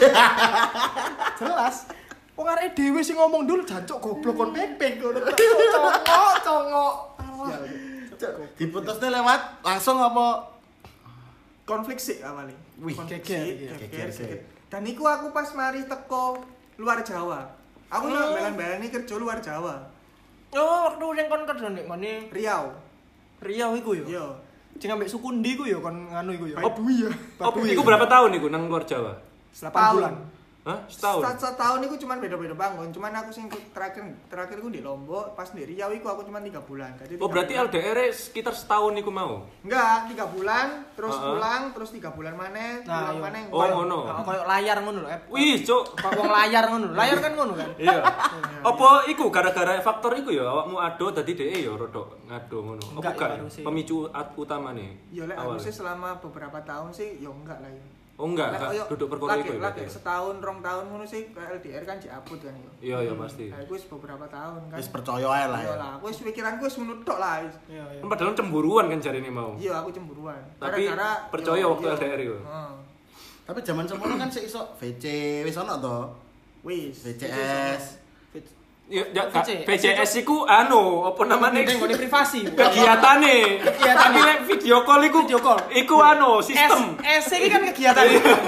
Jelas. Wong arek dhewe sing ngomong dulu jancuk goblok kon pepeng ngono. Congok, congok. Cuk, diputusnya lewat langsung apa? Konflik sih awalnya. Wih, Konflik geger, sik, iya. geger, Geger sik. geger. Dan iku aku pas mari teko luar Jawa. Aku Hmm. hmm. belan-belani kerja luar Jawa. Oh, waktu sing kon kerja nek ngene Riau. Riau iku yo. Yo. Sing ambek Sukundi iku yo kon nganu iku yo. Baduy ya. Oh, iku berapa tahun iku nang luar Jawa? delapan bulan. Hah? Setahun? Setahun, setahun itu cuma beda-beda bangun. Cuman aku sing terakhir terakhir aku di Lombok, pas di Riau itu aku cuma tiga bulan. Jadi Oh, berarti L D R sekitar setahun iku mau? enggak, tiga bulan, terus Uh-uh. pulang, terus tiga bulan maneh, Nah, pulang iya. maneh. Oh, ngono. Nah, koyo layar ngono lho. Ep. Wih, cuk. Kok wong layar ngono. Layar kan ngono kan. Iya. Apa iku gara-gara faktor iku ya awakmu ado dadi dhek ya rodok ngado ngono. Apa Enggak, enggak? ya, harusnya. Pemicu at- utamane. Ya lek awal. harusnya selama beberapa tahun sih ya enggak lah ya. Oh enggak, Lek enggak koyo duduk perkara lagi- iku ya. lagi berarti. setahun, rong tahun ngono sih ke L D R kan diaput kan ya. Iya, iya pasti. Nah, itu wis beberapa tahun kan. Wis percaya ae lah Iya ya. lah, aku wis pikiranku wis ngono tok lah. wis. Iya, iya. Kan padahal cemburuan kan jarine mau. Iya, aku cemburuan. Tapi Gara-gara- percaya yo, waktu iya. L D R itu? Heeh. Tapi zaman semono kan sik iso V C wis ono to. Wis. V C S. Ya, ya V C S V C S iku anu, apa namanya? Ning ngene privasi. Kegiatane. Tapi lek video call iku Video call. Iku anu, sistem. S iki kan kegiatan.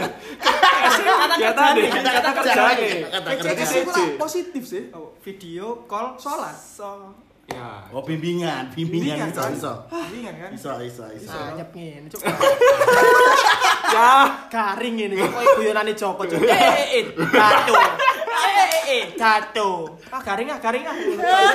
S iki kata Kegiatane, kerjane. kata kerjane. Kata V C S kerja. itu lah positif sih. Video call Sholat. So. Ya. Oh bimbingan, bimbingan iso kan? iso. Bimbingan kan? Iso iso iso. Nah, nyep ngene, Cuk. Ya. Garing ngene kok koyo guyonane Joko, Cuk. Eh eh eh, jatuh. Eh eh eh, jatuh. Ah garing ah, garing ah.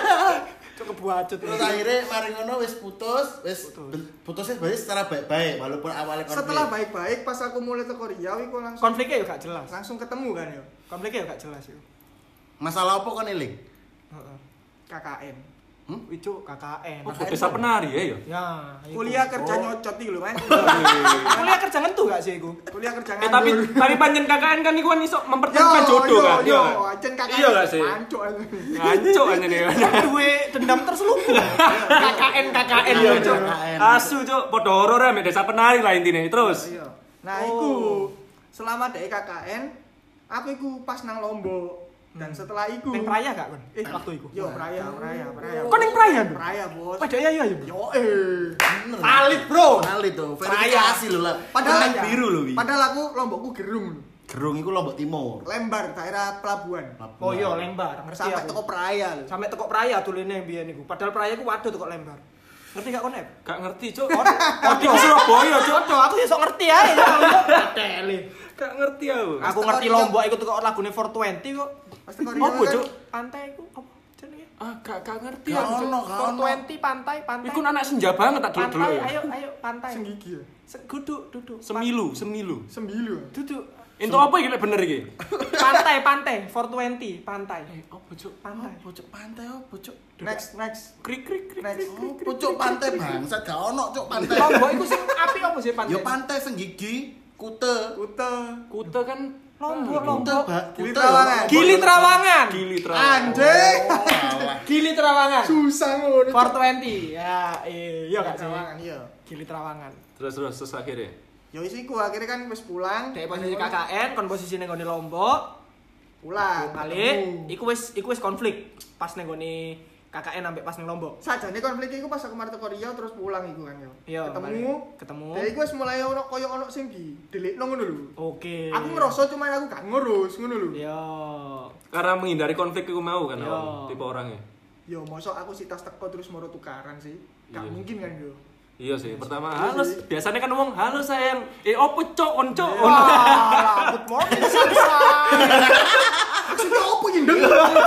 Cuk kebuacut. Terus akhirnya mari ngono wis putus, wis ben- putusnya berarti secara baik-baik walaupun awalnya konflik. Setelah baik-baik pas aku mulai ke Riau iku langsung Konfliknya yo gak jelas. langsung ketemu kan yo. Konfliknya yo gak jelas yo. Masalah apa kon eling? Heeh. K K N. Hmm? Itu K K N. Oh, desa penari ya ya. Ya, iku. Kuliah kerja Oh. nyocot iki lho, Mas. Kuliah kerja ngentu gak sih iku? Kuliah kerja Eh tapi nganggur. tapi panjen K K N kan iku kan iso mempertemukan jodoh kan. Yo, Iya. ancen K K N. Iya gak sih? Pancuk. Ngancuk aja nih. Duwe dendam terselubung. K K N K K N Iya, yo, Cuk. Cuk. Asu, Cuk. Padha horor ya mek desa penari lah intine. Terus. Iya. Nah, Oh. iku selama dek K K N aku iku pas nang Lombok. Dan setelah iku Ning Praya gak kon? Eh, Waktu iku. Yo, Praya, Praya, Praya. Kok ning Praya, Bro? Praya, Bos. Padahal ya ya. Yo eh. Bener. Valid, Bro. Valid tuh, verifikasi lho lah. Padahal Padahal biru lho wi. Padahal aku Lombokku gerung. Gerung iku Lombok Timur. Lembar daerah pelabuhan. Oh iya, Lembar. Ngerti Sampai aku. toko Praya lho. Sampai teko Praya tulene biyen niku. Padahal Praya iku waduh teko Lembar. Ngerti gak kon, Ep? Gak ngerti, Cuk. Kok di Surabaya, Cuk. Waduh, aku ya sok ngerti ae. Tele. Gak ngerti aku. Aku ngerti Lombok iku teko lagune four twenty kok. Pas teko Riau Apa, kan, Cuk? Pantai iku apa jenenge? Ah, gak gak ngerti Gak aku. Cuk. ono, gak four ono. twenty pantai, pantai. Iku anak senja banget tak dulu-dulu pantai, ya. ayo ayo pantai. sing gigi ya. Se- Duduk, duduk. Semilu, semilu. Sembilu. Duduk. Itu apa iki lek bener iki? Pantai, pantai, four twenty, pantai. Eh, apa, Cuk? Pantai. Pojok pantai oh, pojok. Next, next. Krik krik krik. Next. Oh, pojok pantai bangsat gak ono cuk pantai. Lombok iku sing api apa sih pantai? Yo pantai Senggigi, Kute. Kute. Kute kan Lombok, Ah, Lombok. Kute, Pak. Gili Kute. Trawangan. Gili Trawangan. Gili Trawangan. Anjing. Oh, alah. Gili Trawangan. Susah ngono. four twenty. Ya, iya gak sih? Trawangan iya. Gili Trawangan. Terus terus terus akhirnya. Yo isiku akhirnya kan wis pulang. Dek posisi K K N, kon posisi ning nggone Lombok. Pulang. Balik, ketemu. iku wis iku wis konflik pas ning nggone K K N sampai pas ning Lombok. Sajane konflik iku pas aku mari teko Riau terus pulang iku kan yo. Iya, Ketemu. balik. Ketemu. Dari iku wis mulai ono koyo ono sing di delikno ngono lho. Oke. Aku ngerasa cuman aku gak ngurus ngono lho. Iya. Karena menghindari konflik itu mau kan Iya. awakmu, tipe orangnya. Yo mosok aku si tas teko terus moro tukaran sih. Gak Iya. mungkin kan yo. Iya sih, pertama Iya halo. sih. Biasanya kan ngomong halo sayang. Eh opo cok, on cok. on." Wah, good morning sunshine. Maksudnya opo iki ndeng?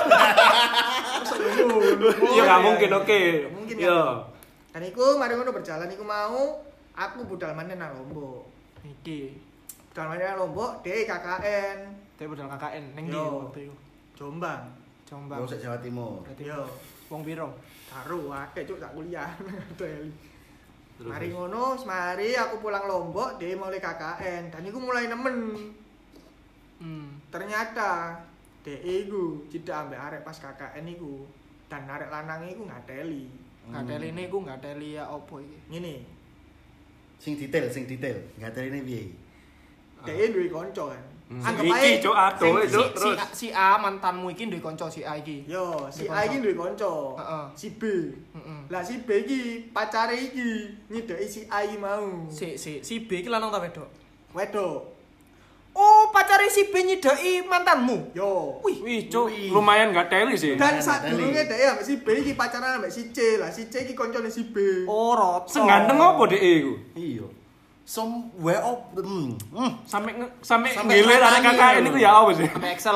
Iya nggak mungkin, oke. Mungkin Iya. kan. Dan iku mari ngono berjalan iku mau aku budal maneh nang Lombok. Iki. Budal maneh nang Lombok, dhek K K N Tapi budal K K N ning ndi Yo. waktu iku? Jombang. Jombang. Wong sik Jawa Timur. Berarti Yo. wong piro? Karo akeh cuk tak kuliah. Deli. Terus, Mari terus. ngono, semari aku pulang Lombok, dia mulai K K N dan iku mulai nemen. Hmm. Ternyata dhek iku tidak ambek arek pas K K N iku. Dan arek lanang iku ngateli. Ngateli ini ku ngateli ya opo iki? Ngene, Sing detail, sing detail. Enggak tadi ini piye? dhek duwe kanca kan. Hmm. Anggap Iki, ae Cuk, aduh, sing- Si, Cuk, si, terus. A, si A mantanmu iki duwe kanca si A iki. Yo, si Duwe A iki kanca. duwe kanca. Heeh. Si B. Heeh. Lah si B iki pacare iki nyedeki si A iki mau. Si si si B iki lanang ta wedok? Wedok. Oh, pacare si B nyidaki mantanmu. Yo. Wih, Wih, cuk, lumayan gak teli sih. Dan Nah, saat teli. dulunya dhek ambek si B iki pacaran ambek si C lah. Si C iki koncone si B. oh roto. Senganteng apa dek iku? Iya. Somewhere up. Hmm. Hmm. Sampai nge- sampai Sampai ngiler arek nangis. K K N itu ya apa sih? Sampai Excel.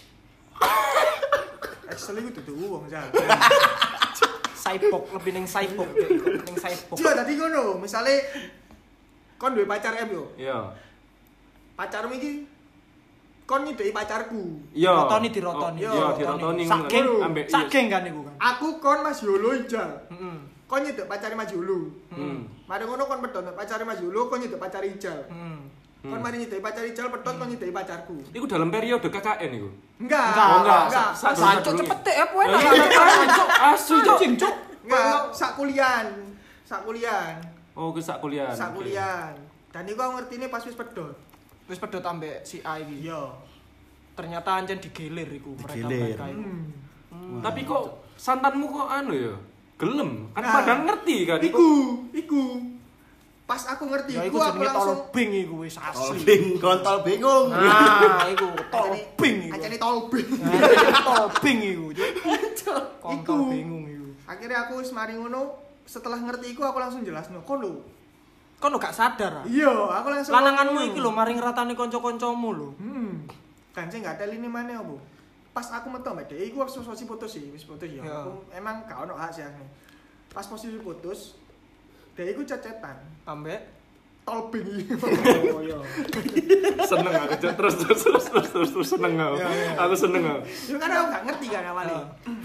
Excel iku dudu wong jan. Cyborg lebih ning cyborg, lebih ning cyborg. Iya tadi ngono, misale kon duwe pacar M yo. Iya. Pacarmu iki kon nyideki pacarku. Iya. Rotoni dirotoni. Oh, Iya, dirotoni. Sak geng, Ambek sak geng kan iku kan. Aku kon Mas Yolo ijal. Heeh. Kon nyidek pacare Mas Yolo. Hmm. Mari ngono kon pedhot pacare Mas Yolo, kon nyidek pacare ijal. Heeh. Kon mari nyideki pacare ijal pedhot kon nyideki pacarku. Iku dalam periode K K N iku. Enggak, Enggak, Oh, enggak. enggak. Sa- Sa sa- cuk dulu cepet ya. deh apa enak. Cuk, asu cuk. Anjing cuk. Enggak, sak kuliahan. Sak kuliahan. Oh, ke sak kuliah. Sak kuliahan. Dan iku aku ngertine pas wis pedhot. Wis pedhot ambek si A iki. Iya. Ternyata ancen digilir iku Digilir. mereka-mereka iku. Hmm. Tapi kok santanmu kok anu ya? Gelem. Kan Nah, padahal ngerti kan. Iku, iku. Pas aku ngerti, Ya iku iku aku jenenge langsung tolbing iku wis asli. Tolbing, kontol bingung. Nah, iku tolbing iku. Ancene tolbing. Nah, tolbing iku. Cuk. Kontol Iku. bingung iku. Akhirnya aku wis mari ngono, setelah ngerti iku aku langsung jelasno, kon lho. Kon lo gak sadar ah. Iya, aku langsung Lananganmu ngomong. iki lho maring ratane kanca-kancamu lho. Hmm. Kan sing gak teli mana opo? Pas aku metu mbak Dek, iku wis posisi putus sih, wis putus ya. Ya. Aku emang gak ono hak sih aku. Pas posisi putus, Dek iku cecetan. Ambek Tolbing iki. oh iya. Seneng aku Cuk. terus terus terus terus terus, terus seneng aku. Iya, iya. Aku seneng aku. Yo kan aku gak ngerti kan awalnya.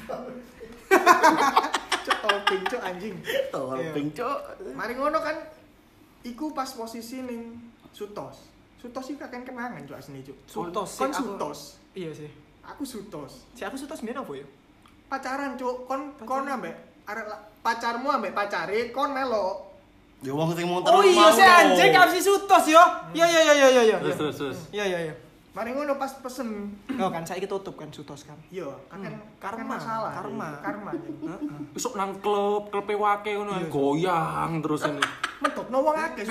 Cuk tolbing cuk anjing. Tolbing, cuk. Mari ngono kan iku pas posisi ning Sutos. Sutos iki kakek kenangan cuk asli cuk. Sutos sih Kon aku. Sutos. Iya sih. Aku Sutos. Si aku sutos mbiyen apa ya? Pacaran cuk, kon kon Pacaran. ambek arek la- pacarmu ambek pacare kon melok. Ya wong sing muter Oh iya si anjing gak si sutos yo. Iya iya iya iya iya. Terus terus terus. Iya iya iya. Mari ngono pas pesen. Oh kan saiki tutup kan sutos kan. Iya, kan Hmm. kan Karma, masalah. karma. Karma. Heeh. Besok nang klub, klub wake ngono Iya. goyang terus ini. Medokno wong akeh.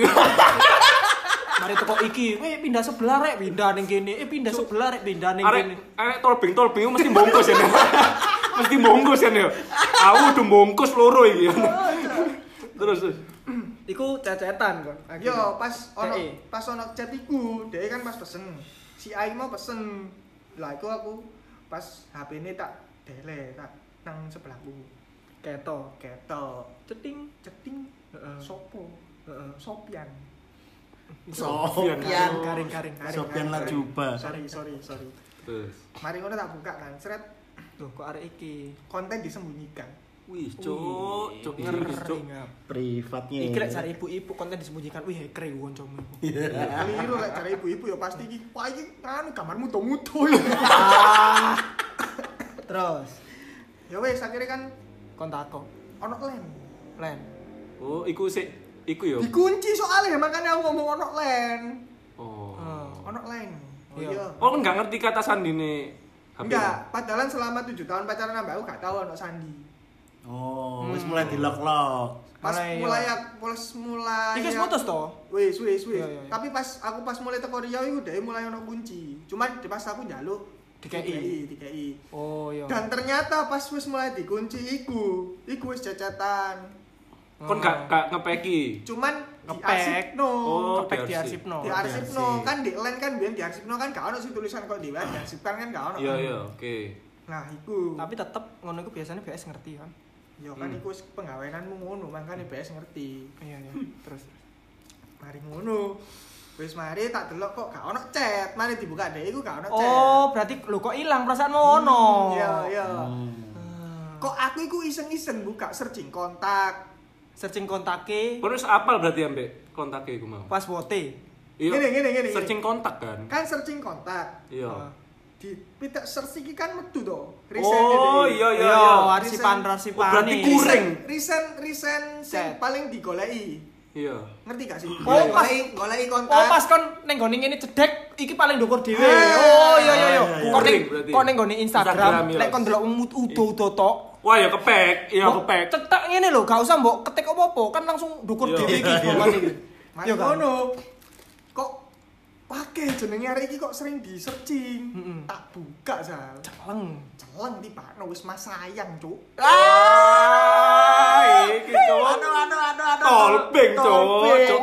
Mari teko iki, weh pindah sebelah rek, pindah ning kene. Eh pindah sebelah rek, pindah ning Arek kene. arek tolbing tolbing itu mesti bungkus ya. Nek. Mesti bungkus ya. Nek. Aku udah bungkus loro iki. Terus terus. Iku cecetan kon. Yo pas ono Dek. pas ono chat iku, dhek kan pas pesen. Si Ai mau pesen. Lah iku aku pas H P-ne tak dele, tak nang sebelahku. Keto. Ketok, Ceting. ceting, Heeh. sopo, Heeh. Sopian. Sofian. Garing garing garing. Sofian Lajuba. Sorry, sorry, sorry. Terus. Mari ngono tak buka kan, seret Loh kok arek iki. konten disembunyikan. Wih, cuk, cuk ngeri cuk. ngap. Privatnya. Iki lek cari ibu-ibu konten disembunyikan. Wih, hacker iku kancamu. Keliru lek cara ibu-ibu ya pasti iki. Wah iki anu gambar muto-muto. Ah. Terus Ya wes akhirnya kan kon takok. ono lem. Len. Oh, iku sik iku yo. Dikunci soalnya makanya aku ngomong ono len. Oh. Oh. Ono len. Oh Iya. iya. Oh, kan nggak ngerti kata sandine H P. Enggak, padahal selama tujuh tahun pacaran sama aku gak tahu ono sandi. Oh, wis mulai dilok-lok. Pas Mana iya? mulai pas mulai Iki wis putus to? Wis wis wis. Iya, iya, iya. Tapi pas aku pas mulai teko Riau iku dhek mulai ono kunci. Cuman pas aku njaluk Dikei. dikei. Oh iya. Dan ternyata pas wis mulai dikunci iku, iku wis cecetan. Kon gak gak ngepeki. Cuman Ngepek. diarsipno. Oh, Kepek diarsip. diarsipno. Diarsipno Diarsip. kan di len kan biyen diarsipno kan gak ono sih tulisan kok di diarsipkan kan gak ono. Iya iya, oke. Nah, iku. Tapi tetep ngono iku biasanya B S ngerti kan. Ya kan Hmm. iku wis penggaweanmu ngono, makane B S ngerti. Iya iya. Terus. Mari ngono. Wis mari tak delok kok gak ono chat. Mari dibuka dhek iku gak ono chat. Oh, berarti lu kok ilang perasaanmu ono. Iya, iya. Hmm. Hmm. Kok aku iku iseng-iseng buka searching kontak. Searching kontake Kon wis apal berarti ambek kontaknya iku mau. pas wote. Iya. Gini, gini, gini, Searching gini. kontak kan. Kan searching kontak. Iya. Ah. Di pitak search iki kan metu to. Oh, dhek. iya iya Iya, iya. arsipan Recent- arsipan. Oh, berarti nih. kurang. Kuring. Recent recent sing Chat. paling digoleki. Iya. Ngerti gak sih? Oh, pas- goleki goleki kontak. Oh, pas kon ning gone ngene cedek iki paling ndukur dhewe. Ah, Oh, iya iya iya. iya, Kon ning iya. Berarti. kon ning gone Instagram, Instagram, iya. lek kon delok udo-udo tok. Wah, ya kepek. Iya, Mbok kepek. cetak ngene lho, gak usah mbok ketik apa-apa, kan langsung ndukur Iya. dhewe iki Iya, informasi iki. Mari Iya kan? ngono. Kok Pakai jenenge arek iki kok sering di searching. Mm-mm. Tak buka Sal. Celeng. Celeng tibakno wis Mas sayang, Cuk. Ah, iki cuk. Aduh aduh aduh aduh. Tolbeng cuk. Cuk.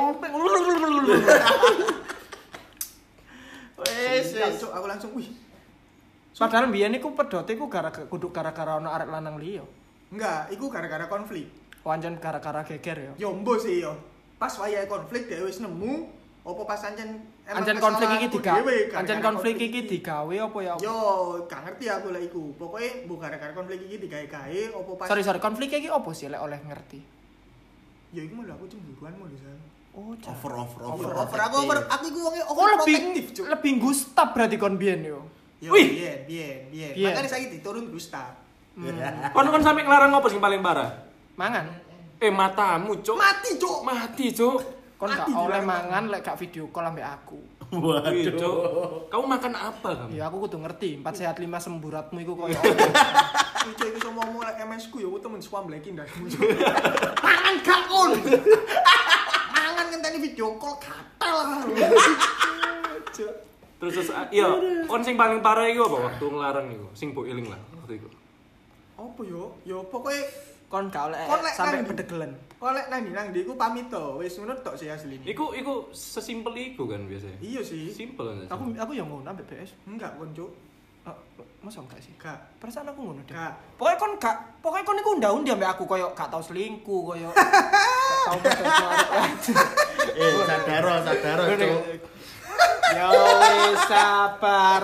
Wes Siap, wes. Cuk, aku langsung wih. Padahal mbiyen iku pedote iku gara-gara kudu gara-gara ono arek lanang liya. Enggak, iku gara-gara konflik. Pancen gara-gara geger ya. Yo mbo sih yo. Pas wayahe konflik dhewe wis nemu apa pas ancen emang Ancen konflik iki kesalahanku digawe, dhewe, ancen gara-gara konflik iki digawe apa ya? Yo, gak ngerti aku lek iku. Pokoke mbok gara-gara konflik iki digawe-gawe apa pas Sorry sorry, konflik iki apa sih lek oleh ngerti? Ya iku malah aku cemburuan mau Sal. Oh, Over over Over, over. over aku over aku iku wonge Oh, over lebih protektif, Cuk. lebih gustap berarti kon biyen yo. Yo, Wih. biyen, biyen, biyen. Biyen. Makane saiki diturun Gustav. Kon kon sampe nglarang apa sing paling parah? Mangan. Eh matamu cuk. Mati, Cuk. Mati cuk. Kon gak Mati oleh dilarang. mangan lek gak video call ambek aku. Wih, Waduh. cuk. Kamu makan apa kamu? Ya aku kudu ngerti, empat sehat lima semburatmu iku koyo Iku iku sama ngomong lek M S ku ya aku temen swambleki ndasmu. Mangan gak kon. Mangan ngenteni video call gatel. Terus terus ah, iya, kon sing paling parah iku apa waktu nglarang iku? Sing mbok eling lah waktu iku. Apa yo? Yo pokoke kon gak oleh Kon lek sampai nang- bedegelen. kok lek nang ndi nang ndi iku pamit to. Wis ngono tok sih asline. Iku iku sesimpel iku kan biasanya. Iya sih. Simpel kan. Aku aku yang ngono ambek B S. Enggak kon, Cuk. Oh, masa enggak sih? Gak. Perasaan aku ngono deh. Gak. Pokoknya kon gak, pokoknya kon iku undang-undang ambek aku koyo gak tau selingkuh koyo gak tau bedo arek. Eh sadaro sadaro cuk. Ya wis sabar.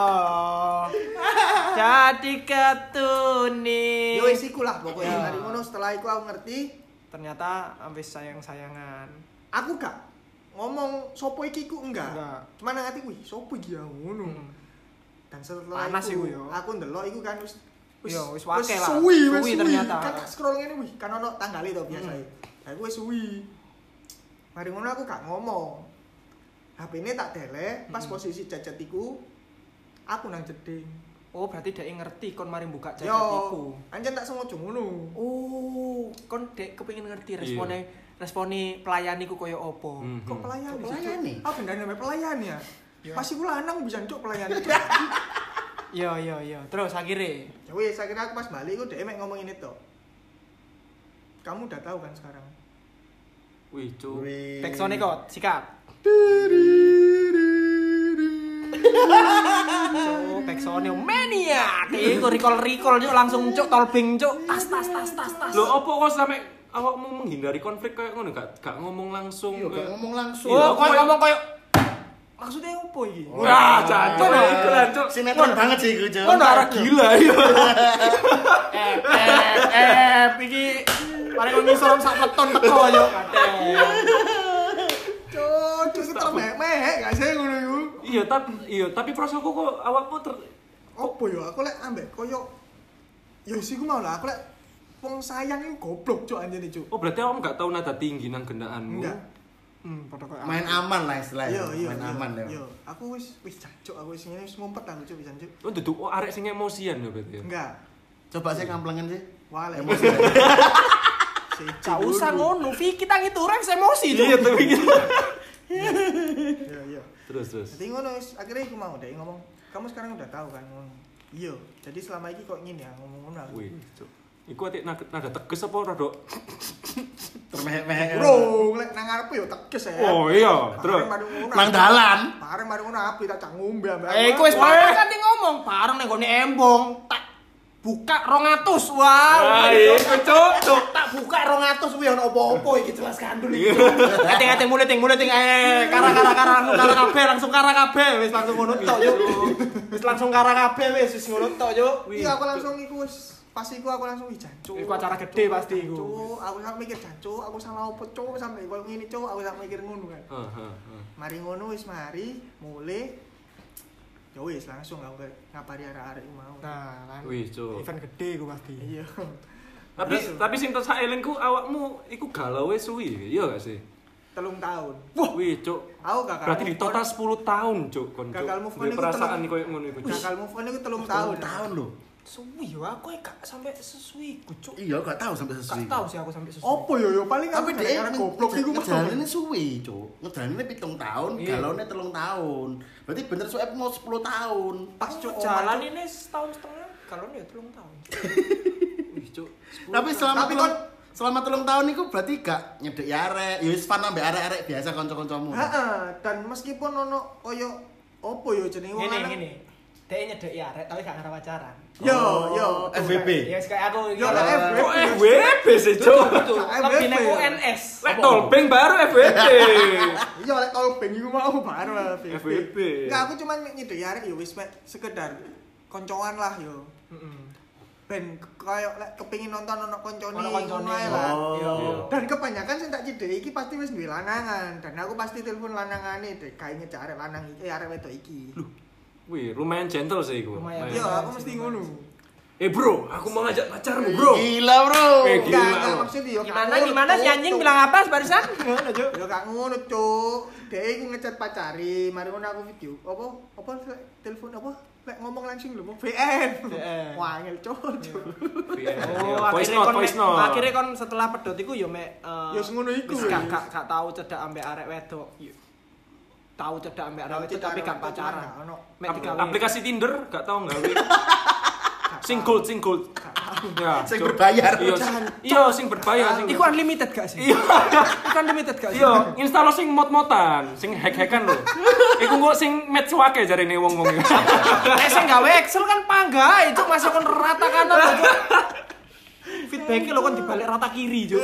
Jadi ketuni. Yo wis iku lah pokoknya. Mari ngono setelah iku aku ngerti, Ternyata ambis sayang-sayangan. aku gak ngomong sopo iki ku enggak. Enggak. Cuma nang ati wih, sopo iki ya ngono. Hmm. Dan setelah Panas iku, iku yo. aku ndelok iku kan wis Yo, wis wake lah. Suwi, wis Suwi suwi ternyata. Kan tak scroll ngene wih, kan ono tanggale to biasa. Hmm. Lah iku wis suwi. Mari ngono aku gak ngomong. H P-ne tak delek, pas Hmm. posisi cacat iku aku nang jeding. Oh, berarti dia ngerti kon mari buka jaket Yo, iku. anjen tak sengaja ngono. Oh, kon dek kepengin ngerti Iya. responnya responi pelayan iku koyo opo. Mhm. Kok pelayan Kok sih, pelayan Cuk? nih? Aku gendane sampe pelayan ya. Ya. Pas iku lanang bisa cuk pelayan itu. Iya, iya, iya. Terus akhirnya Ya wis, akhirnya aku pas balik iku dhek mek ngomong ini to. Kamu udah tahu kan sekarang. Wih, cuk. Wih. backsound kok sikat. So, backsound mania. Iku recall-recall cuk langsung cuk tolbing cuk. Tas tas tas tas tas. Loh, opo kok sampe awakmu menghindari konflik kayak ngono gak gak ngomong langsung. Iya gak kayak- ngomong langsung. Iya, Oh, aku koyo kayak- ngomong koyo maksudnya opo iki? Wah, jancuk Wah. iku lah, cuk. Sinetron banget sih iku cuk. Kon arah gila ya. Eh, eh, eh, iki paling ngisor sak peton teko yo. Cuk, cuk itu termehek gak sih ngono iku? Iya, tapi iya, tapi perasaanku kok awakmu ter Opo yo aku lek ambek koyo ya wis iku mau lah aku lek wong sayang iku goblok cuk anjene cuk. Oh, berarti awakmu gak tahu nada tinggi nang gendaanmu. Enggak. Hmm, padha koyo Main aman lah istilahnya. Iya, iya. Main iya, aman ya. Iya, aku wis wis jancuk aku wis ngene wis ngumpet aku cuk bisa cuk. Oh, duduk oh, arek sing emosian ya berarti ya. Enggak. Coba sih kamplengan sih. Wah, lek Emosi. Gak usah ngono, Vi kita gitu Rex emosi tuh. Iya, tapi gitu. Iya, iya. Terus terus. Jadi ngono wis akhirnya aku mau deh ngomong, kamu sekarang udah tahu kan ngomong. Iya, jadi selama ini kok ngene ya ngomong ngono aku. Wih, cuk. Iku atik nada, nada teges apa rada? Termehek-mehek. Bro, lek nang ngarep yo teges ya. Oh iya, terus. Bareng mari ngono. Nang dalan. Bareng mari ngono api tak cak ngombe ambek. Eh, iku wis parah kan ngomong, bareng ning gone embong, tak buka rong atus. Wow. Ah, iku cuk, cuk. Tak buka rong atus kuwi ono opo-opo iki jelas gandul iki. Ate-ate mulai ting mulai ting eh kara-kara kara langsung kara kabeh, langsung kara kabeh wis langsung ngono tok yo. Wis langsung kara kabeh wis wis ngono tok yo. Iya, aku langsung iku wis pas iku aku langsung wih jancuk. Iku acara gede pasti iku. Jancuk, aku sampe mikir jancuk, aku salah opo cuk sampe koyo ngene cuk, aku sampe mikir ngono kan. Heeh, heeh. Mari ngono wis mari mulai ya wis langsung aku ngabari arek-arek mau. Nah, kan. Wih, cuk. Event gede iku pasti. Iya. Tapi tapi sing tak elingku awakmu iku galau wis suwi, iya gak sih? Telung tahun. Wah, wih, cuk. Aku gagal. Berarti di move on. total sepuluh tahun, cuk, kon. Cuk. Gagal move on Duwe iku perasaan telung- koyo ngono iku. Cuk. Gagal move on itu telung Tahun tahun. tahun loh. Suwi yo aku gak sampai sesuwi ku, Cuk. Iya, gak tahu sampai sesuwi. Gak tahu sih aku sampai sesuwi. Opo yo yo paling Tapi aku dia gara-gara goblok iku mau. ngejalannya suwi, Cuk. Ngejalannya pitung tahun, Iya. galonnya telung tahun. Berarti bener suwe mau sepuluh tahun. Pas Cuk jalan ini setahun setengah kalau ya telung tahun. Wih, Cuk. Tapi selama Tapi telung, kon- selama telung tahun itu berarti gak nyedek arek, ya wis fan ambek arek-arek biasa kanca-kancamu. Heeh, dan meskipun ono koyo opo yo jenenge wong Ngene lanang. ngene. Dhek nyedek ya arek tapi gak ngarep pacaran. Yo Oh, yo F W B. Ya wis kayak aku Yo iki. lah F W B. Kok F W B sih, Cuk? Betul. F W B. Lebih nek U N S. Lek tolbeng baru F W B. Iya lek tolbeng iku mau baru lah F W B. Enggak, aku cuman nyedek arek yo wis mek sekedar koncoan lah yo. Heeh. Ben koyo lek kepengin nonton ono koncone Ono koncone. ngono ae lah. Oh. Yo. Dan kebanyakan sing tak cedek iki pasti wis duwe lanangan dan aku pasti telepon lanangane dek kae ngejak arek lanang iki, eh arek wedok iki. Wih, lumayan gentle sih iku. Lumayan. Iya, aku mesti ngono. Eh, Bro, aku mau ngajak pacarmu, Bro. Gila, Bro. Eh, gila. Enggak, enggak maksud yo. Gimana gimana si anjing bilang apa barusan? Ngono, Cuk. Yo gak ngono, Cuk. Dek iku ngecat pacari, mari ngono aku video. Apa? Apa telepon apa? Lek ngomong langsung lho, V N. V N. Wah, ngel Cuk. Oh, voice akhirnya note, kon voice mek- note. akhirnya kon setelah pedot iku yo mek eh, Ya ngono iku. wis gak gak gak tau cedak ambek arek wedok. Yo. Tahu cedak ambek arek wedok tapi gak pacaran. Mek Ap- digawe. aplikasi Tinder gak tau gawe. Sing gold, sing gold. Ya, Sing Cuk. berbayar. Iya, iya sing berbayar sing. Iku unlimited gak sih? Iya. Iku unlimited gak sih? Iya, install sing mod-modan, sing hack-hackan lho. Iku kok sing match wake jarene wong-wong. Nek sing gawe Excel kan panggae, Cuk, masuk kon rata kanan, Cuk. Feedback-e lho kon dibalik rata kiri, Cuk.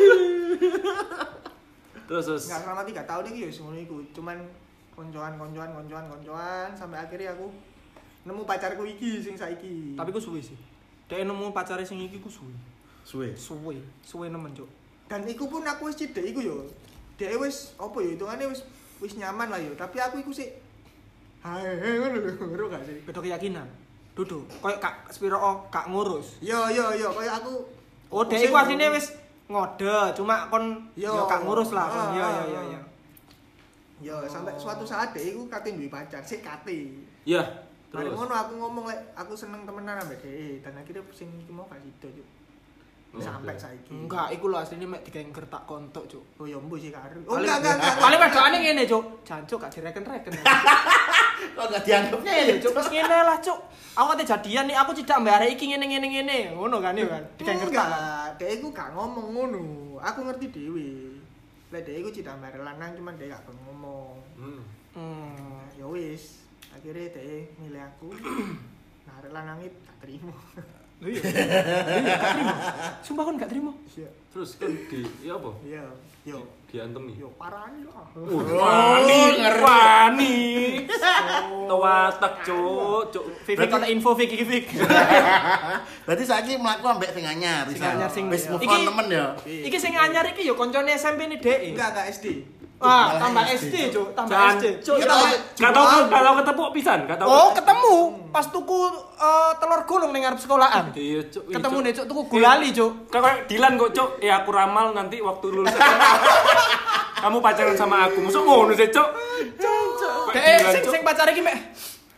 Terus terus. Enggak selama tiga tahun iki ya ngono iku. Cuman koncoan koncoan koncoan koncoan sampai akhirnya aku nemu pacarku iki sing saiki. Tapi ku suwe sih. Dek nemu pacare sing iki ku suwe. Suwe. Suwe, suwe nemen, Cuk. Dan iku pun aku wis cidek iku yo. Dek wis apa ya hitungane wis wis nyaman lah yo, tapi aku iku sik hae ngono lho, ngono gak sih? Beda keyakinan. Dudu, koyo kak spiro oh, kak ngurus. Yo yo yo koyo aku Oh, dek iku asline wis ngode, cuma kon Yo. yo kak ngurus lah kon. Ah, Iya ah, iya iya ah. iya. yo sampai suatu saat dek iku kate duwe pacar, sik kate. Iya, Mari terus. ngono aku ngomong lek aku seneng temenan ambek dhek dan akhirnya sing iki mau gak sido, Cuk. Oh, Sampai oke. saiki. Enggak, iku lho asline mek digenger tak kontok, Cuk. Oh ya mbu sih karo. Oh Paling- enggak enggak enggak. Paling wedokane ngene, Cuk. Jancuk gak direken-reken. Kok gak dianggapnya ya, Cuk, wis ngene lah, Cuk. Aku ate jadian nih, aku cidak mbak arek iki ngene ngene ngene. Ngono kan ya kan. Digenger tak. Enggak, dhek iku gak ngomong ngono. Aku ngerti dhewe. Lek dhek iku cinta mbare lanang cuman dhek gak pengen ngomong. Hmm. Hmm. Ya wis, akhirnya dhek milih aku. Nah, arek lanang itu gak terima. Lho iya. Iya, gak terima. Sumpah kon gak terima. Iya. Terus kan di ya apa? Iya, yo. Diantemi. Yo parani lah. Wani, wani. Tawatak, Cuk, Cuk. Vivi kon info Vivi Vivi. Berarti saiki mlaku ambek sing anyar, Sing bisa. anyar, sing- Wis move Iki- on nemen ya. Iki sing anyar iki yo koncone S M P ni Dek. Enggak, enggak S D. Ah, Malah tambah S S D, D, Cuk. Tambah Jan, S D. Cuk, Kita- gak tau gak tau ketemu pisan, gak tau. Oh, ketemu pas tuku eh, telur gulung ning ngarep sekolahan. Iya, Cuk. Iya, Ketemu Cuk. nih, Cuk, tuku gulali, Cuk. Kayak Dilan kok, Cuk. Ya aku ramal nanti waktu lulus S M A. Kamu pacaran sama aku. Masuk ngono sih, Cuk. Kayak Dek, Dilan, sing Cuk. sing pacare iki mek.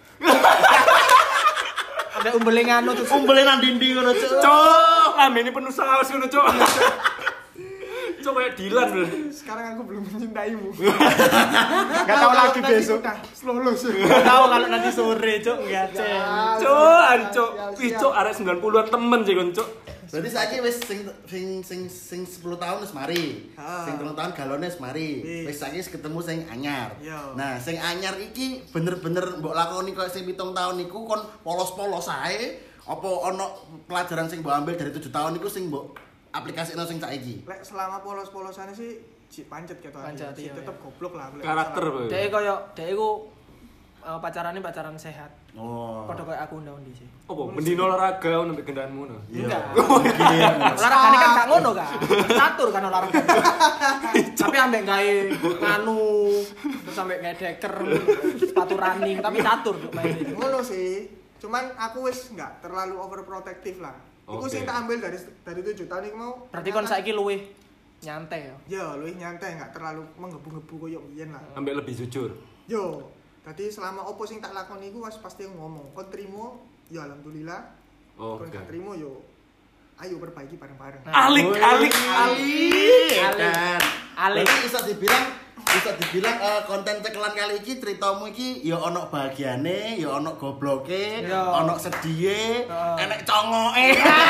Ada umbele nganu tuh. Umbele nang dinding ngono, Cuk. Cuk, lambene penuh saus ngono, Cuk. Cuk kayak Dilan lho. Sekarang aku belum mencintaimu. Enggak tahu lagi Nanti besok. udah lulus. Enggak tahu kalau nanti sore, Cuk. Enggak, Cek. Cuk, ancuk. Ih, Cuk, arek sembilan puluhan temen sih kon, Cuk. Berarti saiki wis sing sing sing sing sepuluh tahun wis mari. Ah. Sing telung tahun galone wis mari. Wis. Wis saiki wis ketemu sing anyar. Iya. Nah, sing anyar iki bener-bener mbok lakoni koyo sing pitung tahun niku kon polos-polos ae apa ana pelajaran sing mbok ambil dari tujuh tahun niku sing mbok aplikasikno sing saiki? Lek selama polos-polosane sih si pancet ketok. Pancet, Si iya, tetep iya. goblok lah. lek Karakter, masalah. Boy. Dek koyo dek iku eh, pacarane pacaran sehat. Oh. Padha koyo aku ndang-ndi sih. Apa mendino olahraga ngono mek gendaanmu ngono. Enggak. Iya. Olahragane kan gak ngono kan. Catur kan olahraga. Tapi ambek gawe nganu terus ambek gawe deker sepatu running tapi catur Cuk, main ini. Ngono sih. Cuman aku wis enggak terlalu overprotective lah. Iku Oke. sing tak ambil dari dari tujuh tahun iku mau. Berarti kon saiki luwih nyantai ya. Ya, luwih nyantai enggak terlalu menggebu-gebu koyo biyen lah. Ambek lebih jujur. Yo, tadi selama opo sing tak lakoni iku wis pasti ngomong. Kon trimo, ya alhamdulillah. Oh, Kon gak oke. trimo yo ayo perbaiki bareng-bareng. Alik, Wih, alik, alik. alik. Dan Alik. berarti bisa dibilang bisa dibilang eh, konten cekelan kali iki ceritamu iki ya ono bahagiane, ya ono gobloke, Ya. ono sedhiye, Ya. enek congoke.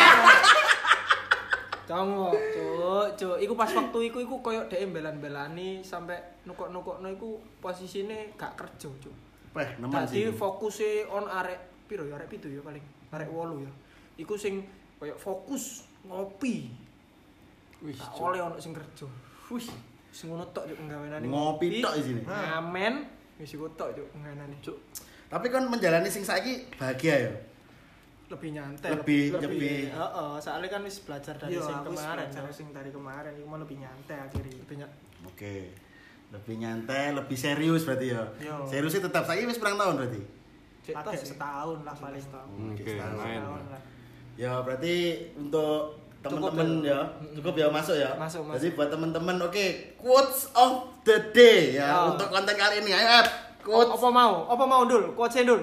Congok, cuk, cuk. Iku pas waktu iku iku koyo dhek belan-belani sampai nukok-nukokno iku posisine gak kerja, cuk. Peh, nemen Dadi sih. fokuse on arek piro ya, arek pitu ya paling. Arek wolu ya. Iku sing koyo fokus ngopi. Wih, Tak Cuk. oleh ono sing kerja. Wih, sing ngono tok cuk penggaweane. Ngopi tok isine. Ngamen, wis iku tok cuk penggaweane, cuk. Tapi kan menjalani sing saiki bahagia ya. Lebih nyantai, Lebih- lebih- heeh, soalnya kan wis belajar dari Iya, sing aku wis kemarin. belajar Cuk. sing dari kemarin iku mah lebih nyantai akhirnya. Lebih ny- Oke. Lebih nyantai, lebih serius berarti ya. Yo. Seriusnya tetap saiki wis pirang tahun berarti. cek Pakai tos sih. setahun lah paling. Hmm, Oke, setahun. main. Setahun lah. Ya berarti untuk Cukup teman-teman ya. ya, cukup ya masuk ya. Masuk, masuk. Jadi buat teman-teman oke, quotes of the day ya Oh. untuk konten kali ini. Ayo, Ep. Quotes. Apa mau? Apa mau dul? Quotes dul.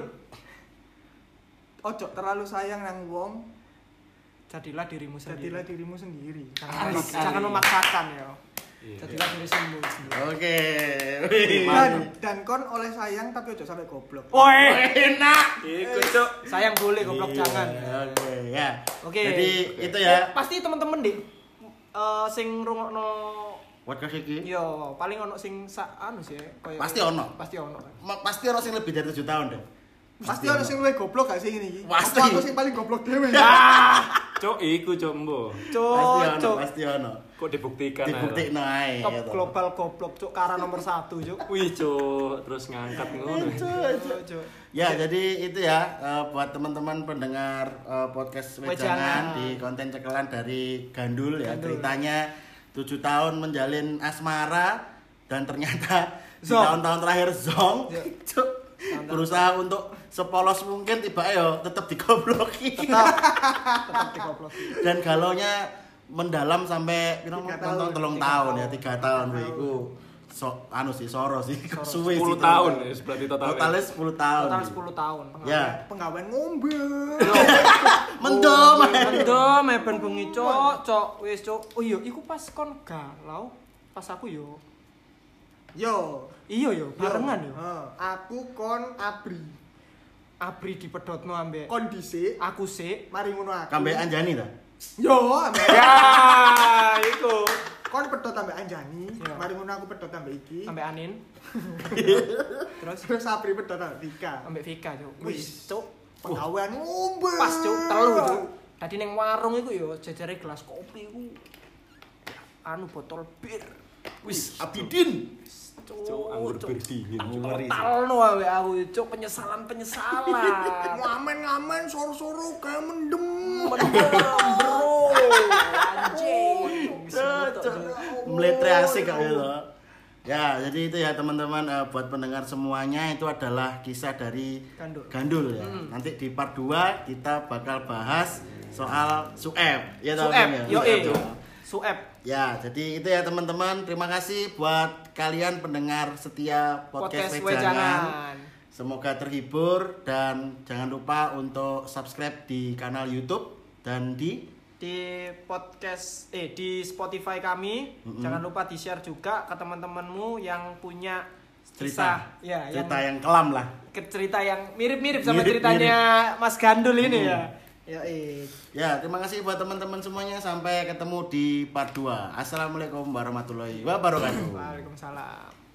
Ojo terlalu sayang nang wong, Jadilah dirimu sendiri. jadilah dirimu sendiri. Jangan, Alik, jangan alik. memaksakan ya. Iya. Jadilah diri sendiri. Oke. Dan, dan kon oleh sayang tapi ojo sampai goblok. Woi, Enak. iku Cuk. Sayang boleh, goblok Iya, jangan. Oke, ya. Oke. Jadi itu ya. Pasti teman-teman deh eh sing rungokno Podcast iki. yo paling ono sing sa anu sih koyo Pasti ono. Pasti ono. Ma- Pasti orang sing lebih dari tujuh tahun deh. Pasti ada sing luwih goblok gak sih ini? Pasti. Apa aku sing paling goblok dhewe? Cuk, iku Cuk, Mbo. Pasti Cuk, ono, cuk. pasti ono. Kok dibuktikan ae, Dibuktikno ae. Top gitu. global goblok cuk kara nomor satu cuk. Wih, Cuk, terus ngangkat ngono. Cuk, cuk. Ya, jadi itu ya eh, buat teman-teman pendengar eh, podcast Wejangan. Wejangan di konten cekelan dari Gandul ya. Gandul. Ceritanya tujuh tahun menjalin asmara dan ternyata di Zong. tahun-tahun terakhir zong. Ya. Cuk, berusaha untuk sepolos mungkin tiba yo tetap digobloki. Tetap tetap digobloki. Dan galaunya mendalam sampai pirang Tiga tahun, tahun. telung Tiga tahun tahun. ya, tiga tahun Tiga iku. So, anu sih soro sih, suwe sih. sepuluh tahun ya, berarti totalnya. Totalnya sepuluh tahun. Total sepuluh tahun. Ya. Penggawean ngombe. Mendom. Mendom ben bengi cuk, cuk wis cuk. Oh iya, iku pas kon galau pas aku yo. Yo, Iya yo, barengan yo. Heeh. Aku kon abri. Abri dipedhotno ambek Kondisi aku sik. mari ngono aku. Kambe Anjani ta? Yo, ambek Ya, iku. kon pedhot ambek Anjani, Yo. mari ngono aku pedhot ambek iki. Ambek Anin. Terus Terus abri pedhot ambek Dika. ambek Vika cuk. Wis. Wis cuk. Penggawean ngombe. Pas cuk telu cuk. Tadi ning warung iku yo jejere gelas kopi iku. Anu botol bir. Wis Abidin. Cuk, anggur bir dingin. Cuk. Ngeri sih. Talno awe aku cuk penyesalan-penyesalan. Ngamen-ngamen soro-soro kayak mendem. Mendem bro. Anjing. Meletre asik kak gitu. Ya, jadi itu ya teman-teman eh, buat pendengar semuanya itu adalah kisah dari Gandul. Gandul ya. Hmm. Nanti di part dua kita bakal bahas soal Sueb. Ya toh, Sueb, Bang, ya? yo eh. Sueb. Sueb. Ya, jadi itu ya teman-teman. Terima kasih buat kalian pendengar setia podcast, Podcast Wejangan. Wejangan. Semoga terhibur dan jangan lupa untuk subscribe di kanal YouTube dan di Di podcast eh di Spotify kami. Mm-mm. Jangan lupa di-share juga ke teman-temanmu yang punya cerita. kisah. Ya, cerita yang yang kelam lah. ke cerita yang mirip-mirip sama Mirip-mirip. ceritanya Mas Gandul ini Hmm. ya. Ya, eh. Ya, terima kasih buat teman-teman semuanya. Sampai ketemu di part dua. Assalamualaikum warahmatullahi wabarakatuh. Waalaikumsalam.